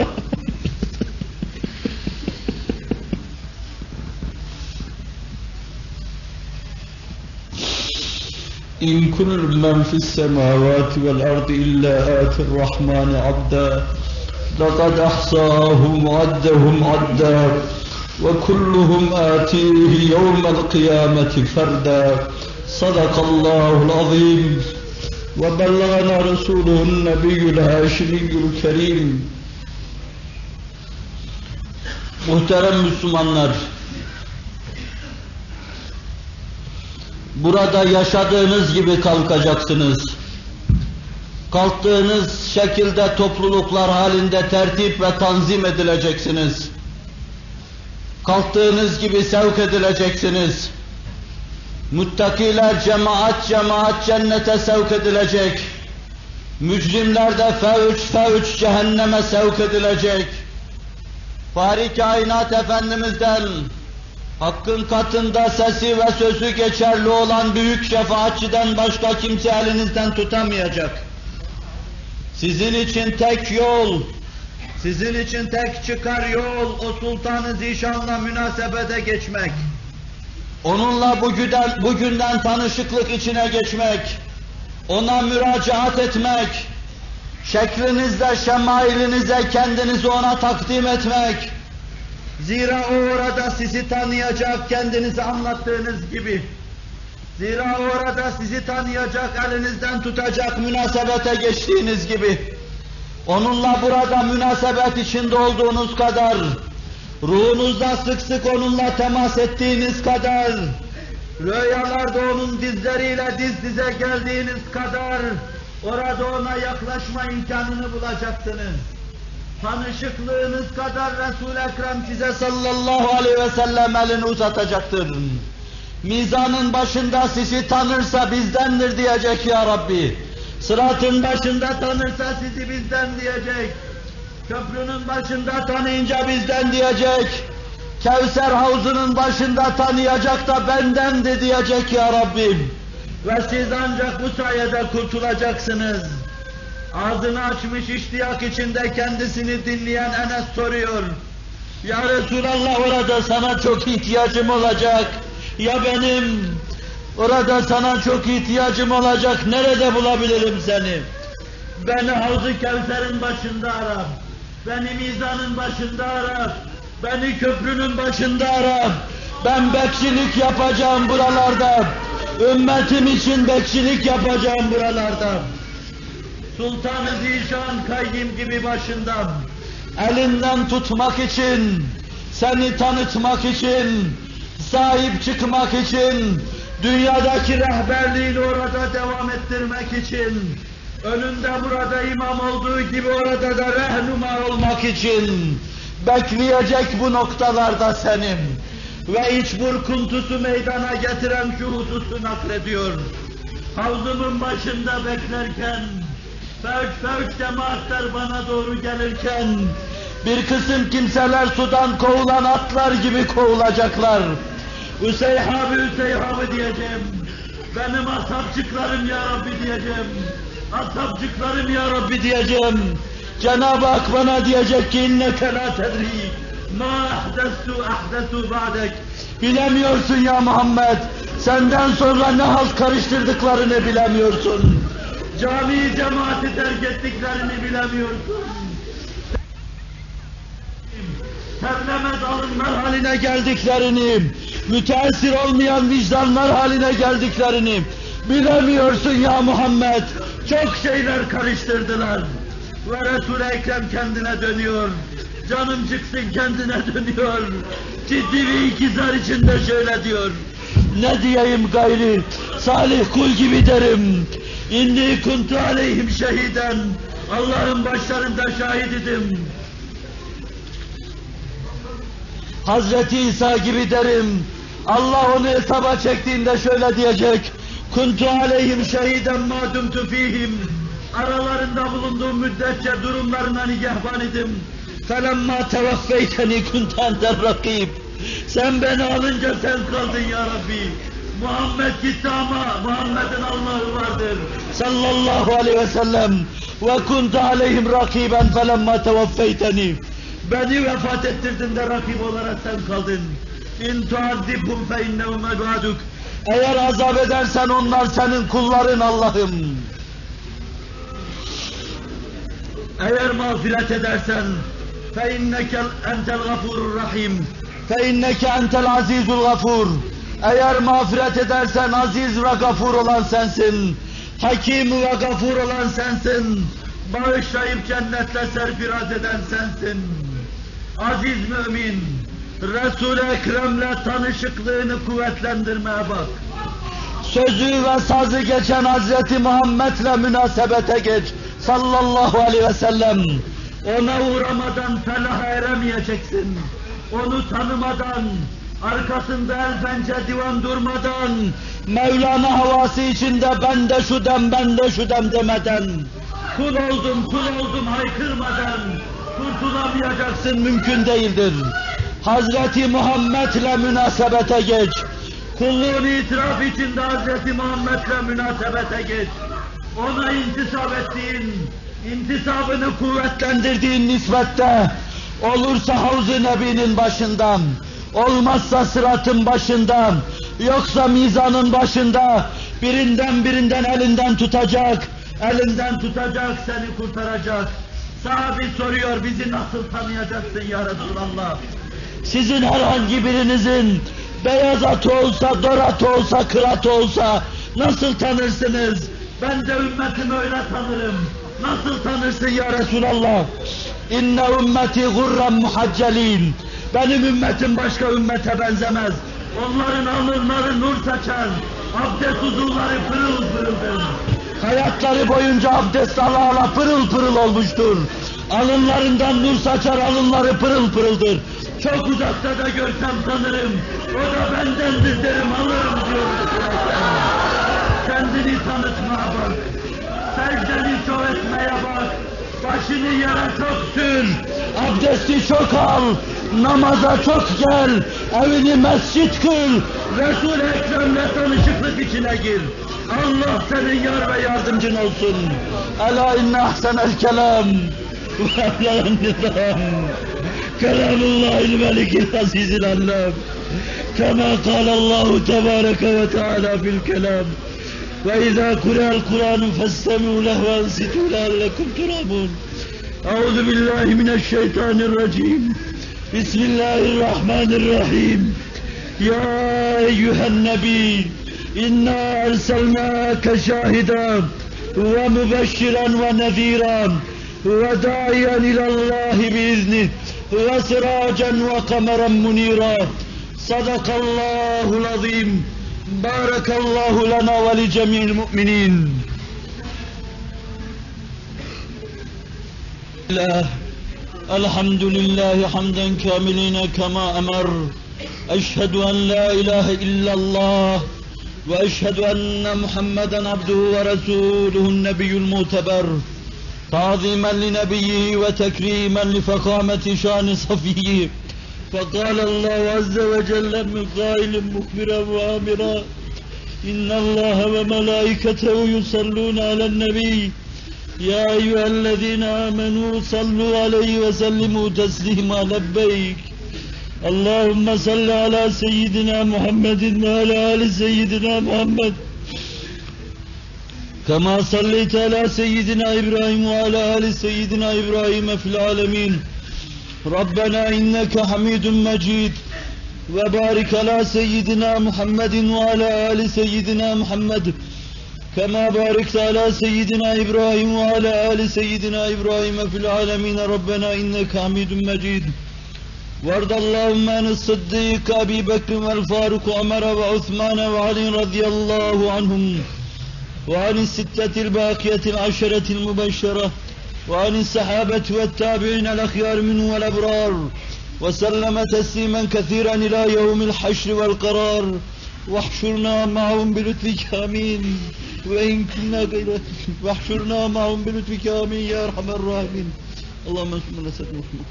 إن كل من في السماوات والأرض إلا آتي الرحمن عبدا لقد أحصاهم وعدهم عدا وكلهم آتيه يوم القيامة فردا صدق الله العظيم وبلغنا رسوله النبي الهاشمي الكريم. Muhterem Müslümanlar, burada yaşadığınız gibi kalkacaksınız. Kalktığınız şekilde topluluklar halinde tertip ve tanzim edileceksiniz. Kalktığınız gibi sevk edileceksiniz. Muttakiler cemaat cemaat cennete sevk edilecek. Mücrimler de fevç fevç cehenneme sevk edilecek. Fahri Kainat Efendimiz'den Hakk'ın katında sesi ve sözü geçerli olan büyük şefaatçiden başka kimse elinizden tutamayacak. Sizin için tek yol, sizin için tek çıkar yol o Sultan-ı Zişan'la münasebete geçmek. Onunla bugünden, bugünden tanışıklık içine geçmek, ona müracaat etmek, şeklinizle, şemailinize kendinizi ona takdim etmek. Zira o orada sizi tanıyacak, kendinizi anlattığınız gibi. Zira o orada sizi tanıyacak, elinizden tutacak, münasebete geçtiğiniz gibi. Onunla burada münasebet içinde olduğunuz kadar, ruhunuzda sık sık onunla temas ettiğiniz kadar, rüyalarda onun dizleriyle diz dize geldiğiniz kadar, orada ona yaklaşma imkanını bulacaksınız. Tanışıklığınız kadar Resul-i Ekrem size sallallahu aleyhi ve sellem elini uzatacaktır. Mizanın başında sizi tanırsa bizdendir diyecek ya Rabbi. Sıratın başında tanırsa sizi bizden diyecek. Köprünün başında tanıyınca bizden diyecek. Kevser havzunun başında tanıyacak da bendendi diyecek ya Rabbim. Ve siz ancak bu sayede kurtulacaksınız. Ağzını açmış iştiyak içinde kendisini dinleyen Enes soruyor. Ya Resulallah, orada sana çok ihtiyacım olacak. Ya benim? Orada sana çok ihtiyacım olacak. Nerede bulabilirim seni? Beni Havz-ı Kevser'in başında ara. Beni mizanın başında ara. Beni köprünün başında ara. Ben bekçilik yapacağım buralarda. Ümmetim için bekçilik yapacağım buralarda. Sultan-ı Zişan kayyim gibi başından, elinden tutmak için, seni tanıtmak için, sahip çıkmak için, dünyadaki rehberliğini orada devam ettirmek için, önünde burada imam olduğu gibi orada da rehnuma olmak için, bekleyecek bu noktalarda senin. Ve iç burkuntusu meydana getiren şu hususu naklediyor. Havzumun başında beklerken, fevç fevç cemaatler bana doğru gelirken, bir kısım kimseler sudan kovulan atlar gibi kovulacaklar. Üseyhabi Üseyhabi diyeceğim. Benim asapçıklarım ya Rabbi diyeceğim. Asapçıklarım ya Rabbi diyeceğim. Cenab-ı Hak bana diyecek ki inneke la tedri ma ahdestu ahdetu ba'dek. Bilemiyorsun ya Muhammed. Senden sonra ne halt karıştırdıklarını bilemiyorsun. Cami cemaati terk ettiklerini bilemiyorsun. Terlemez alınlar haline geldiklerini, müteessir olmayan vicdanlar haline geldiklerini bilemiyorsun ya Muhammed. Çok şeyler karıştırdılar. Ve Resul-i Ekrem kendine dönüyor. Canım çıksın kendine dönüyor. Ciddi bir ikizar içinde şöyle diyor. Ne diyeyim gayri, salih kul gibi derim. İnni kuntu aleyhim şehiden. Allah'ın başlarında şahit idim. Hazreti İsa gibi derim. Allah onu hesaba çektiğinde şöyle diyecek. Kuntu aleyhim şehiden ma dumtu fihim. Aralarında bulunduğum müddetçe durumlarına nigahban idim. Felemma tevaffeyteni kuntu enter rakib. Sen beni alınca sen kaldın ya Rabbi. Muhammed gitti ama Muhammed'in Allah'ı vardır. Sallallahu aleyhi ve sellem. Ve kuntu aleyhim rakiben felemma tevaffeyteni. Beni vefat ettirdin de rakip olarak sen kaldın. İn tuazzibhum fe innehum ibaduk. Eğer azap edersen onlar senin kulların Allah'ım. Eğer mağfiret edersen fe inneke entel gafurur rahim. Fe inneke entel azizul gafur. Eğer mağfiret edersen aziz ve gafur olan sensin. Hakim ve gafur olan sensin. Bağışlayıp cennetle serfiraz eden sensin. Aziz mümin, Resul-i Ekrem'le tanışıklığını kuvvetlendirmeye bak. Sözü ve sazı geçen Hazreti Muhammed'le münasebete geç. Sallallahu aleyhi ve sellem. Ona uğramadan felaha eremeyeceksin. Onu tanımadan, arkasında el pençe divan durmadan, Mevlana havası içinde ben de şu dem, ben de şu dem demeden, kul oldum, kul oldum haykırmadan, kurtulamayacaksın, mümkün değildir. Hazreti Muhammed'le münasebete geç. Kulluğun itiraf içinde Hazreti Muhammed'le münasebete geç. Ona intisap ettiğin, intisabını kuvvetlendirdiğin nispette, olursa Havz-ı Nebi'nin başından, olmazsa sıratın başından, yoksa mizanın başında, birinden birinden elinden tutacak, elinden tutacak, seni kurtaracak. Sahabi soruyor, bizi nasıl tanıyacaksın ya Resulallah? Sizin herhangi birinizin beyaz atı olsa, dor atı olsa, kır atı olsa nasıl tanırsınız? Ben de ümmetimi öyle tanırım. Nasıl tanırsın ya Resulallah? İnne ümmeti gurran muhaccelin. Benim ümmetim başka ümmete benzemez. Onların alınları nur saçar. Abdest uzuvları pırıl pırıldır. Hayatları boyunca abdest ala ala pırıl pırıl olmuştur. Alınlarından nur saçar, alınları pırıl pırıldır. Çok uzakta da görsem tanırım. O da bendendir derim, alırım diyor. Kendini tanıtmaya bak. Secdeni çok etmeye bak. Başını yere çok sür. Abdesti çok al. Namaza çok gel. Evini mescit kıl. Resul-i Ekrem'le tanışıklık içine gir. Allah senin yar ve yardımcın olsun. Ela inne ahsenel kelam. Ve evlen nizam. Kelamullahil melikil azizil allam. Kema kâlallahu tebâreke ve teâlâ fil kelam. وإذا قرأ القرآن فاستمعوا له وأنصتوا لعلكم ترحمون. أعوذ بالله من الشيطان الرجيم. بسم الله الرحمن الرحيم. يا أيها النبي إنا أرسلناك شاهدا ومبشرا ونذيرا وداعيا إلى الله بإذنه وسراجا وقمرا منيرا. صدق الله العظيم. بارك الله لنا ولجميع المؤمنين. الحمد لله حمدا كاملين كما أمر. أشهد أن لا إله إلا الله وأشهد أن محمدا عبده ورسوله النبي المعتبر. تعظيما لنبيه وتكريما لفخامة شان صفيه. فقال الله عز وجل من قائل مخبرا وآمرا إن الله وملائكته يصلون على النبي يا أيها الذين آمنوا صلوا عليه وسلموا تسليما. لبيك اللهم صل على سيدنا محمد وعلى آل سيدنا محمد كما صليت على سيدنا إبراهيم وعلى آل سيدنا إبراهيم في العالمين. ربنا إنك حميد مجيد. وبارك على سيدنا محمد وعلى آل سيدنا محمد كما باركت على سيدنا إبراهيم وعلى آل سيدنا إبراهيم في العالمين. ربنا إنك حميد مجيد. وارض اللهم عن الصديق أبي بكر والفاروق وعمر وعثمان وعلي رضي الله عنهم وعن الستة الباقية العشرة المبشرة وعن الصحابة والتابعين الأخيار منهم والأبرار وسلم تسليما كثيرا إلى يوم الحشر والقرار. واحشرنا معهم بلطفك آمين. وإن كنا غير واحشرنا معهم بلطفك آمين يا أرحم الراحمين. اللهم صل على سيدنا محمد.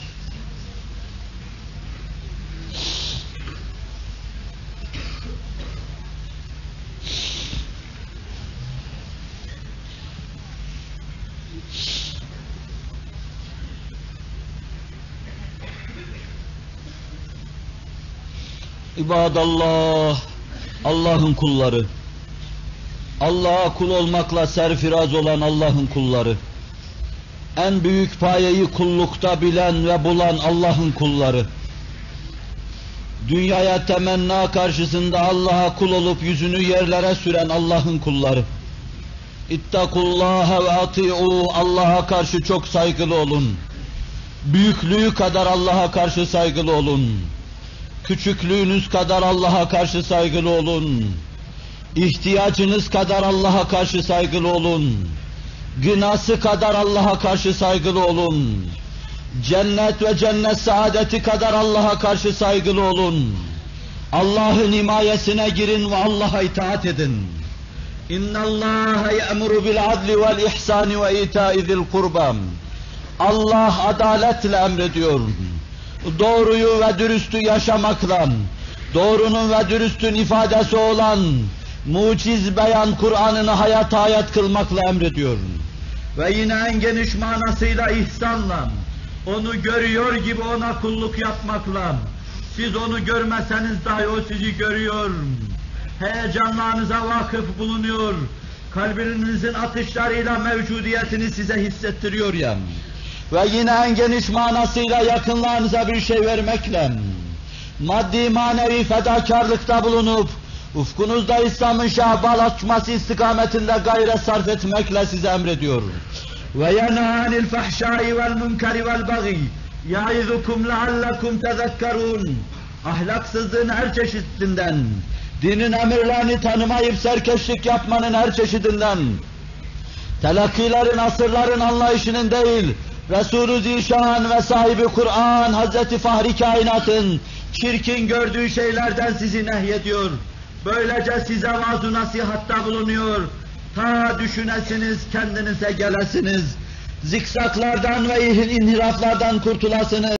İbadallah, Allah'ın kulları, Allah'a kul olmakla serfiraz olan Allah'ın kulları, en büyük payeyi kullukta bilen ve bulan Allah'ın kulları, dünyaya temenna karşısında Allah'a kul olup yüzünü yerlere süren Allah'ın kulları, İttakullaha ve ati'u, Allah'a karşı çok saygılı olun, büyüklüğü kadar Allah'a karşı saygılı olun, küçüklüğünüz kadar Allah'a karşı saygılı olun. İhtiyacınız kadar Allah'a karşı saygılı olun. Gınası kadar Allah'a karşı saygılı olun. Cennet ve cennet saadeti kadar Allah'a karşı saygılı olun. Allah'ın himayesine girin ve Allah'a itaat edin. İnna Allah ya'muru bil adli vel ihsani ve ita'i zil kurba. Allah adaletle emrediyor. Doğruyu ve dürüstü yaşamakla, doğrunun ve dürüstün ifadesi olan muciz beyan Kur'an'ını hayata hayat kılmakla emrediyor. Ve yine en geniş manasıyla ihsanla, onu görüyor gibi ona kulluk yapmakla, siz onu görmeseniz dahi o sizi görüyor, heyecanlarınıza vakıf bulunuyor, kalbinizin atışlarıyla mevcudiyetini size hissettiriyor ya. Ve yine en geniş manasıyla yakınlarınıza bir şey vermekle, maddi manevi fedakarlıkta bulunup, ufkunuzda İslam'ın şahbal açması istikametinde gayret sarf etmekle size emrediyor. Ve yenâ fahşâi vel münkeri vel bagî yaizukum leallekum tezekkerûn. Ahlaksızlığın her çeşidinden, dinin emirlerini tanımayıp serkeşlik yapmanın her çeşidinden, telakkilerin, asırların anlayışının değil, Resul-ü Zişan ve sahibi Kur'an, Hazreti Fahri Kainat'ın çirkin gördüğü şeylerden sizi nehyediyor. Böylece size vaaz-ı nasihatta bulunuyor. Ta düşünesiniz, kendinize gelesiniz. Zikzaklardan ve inhiraflardan kurtulasınız.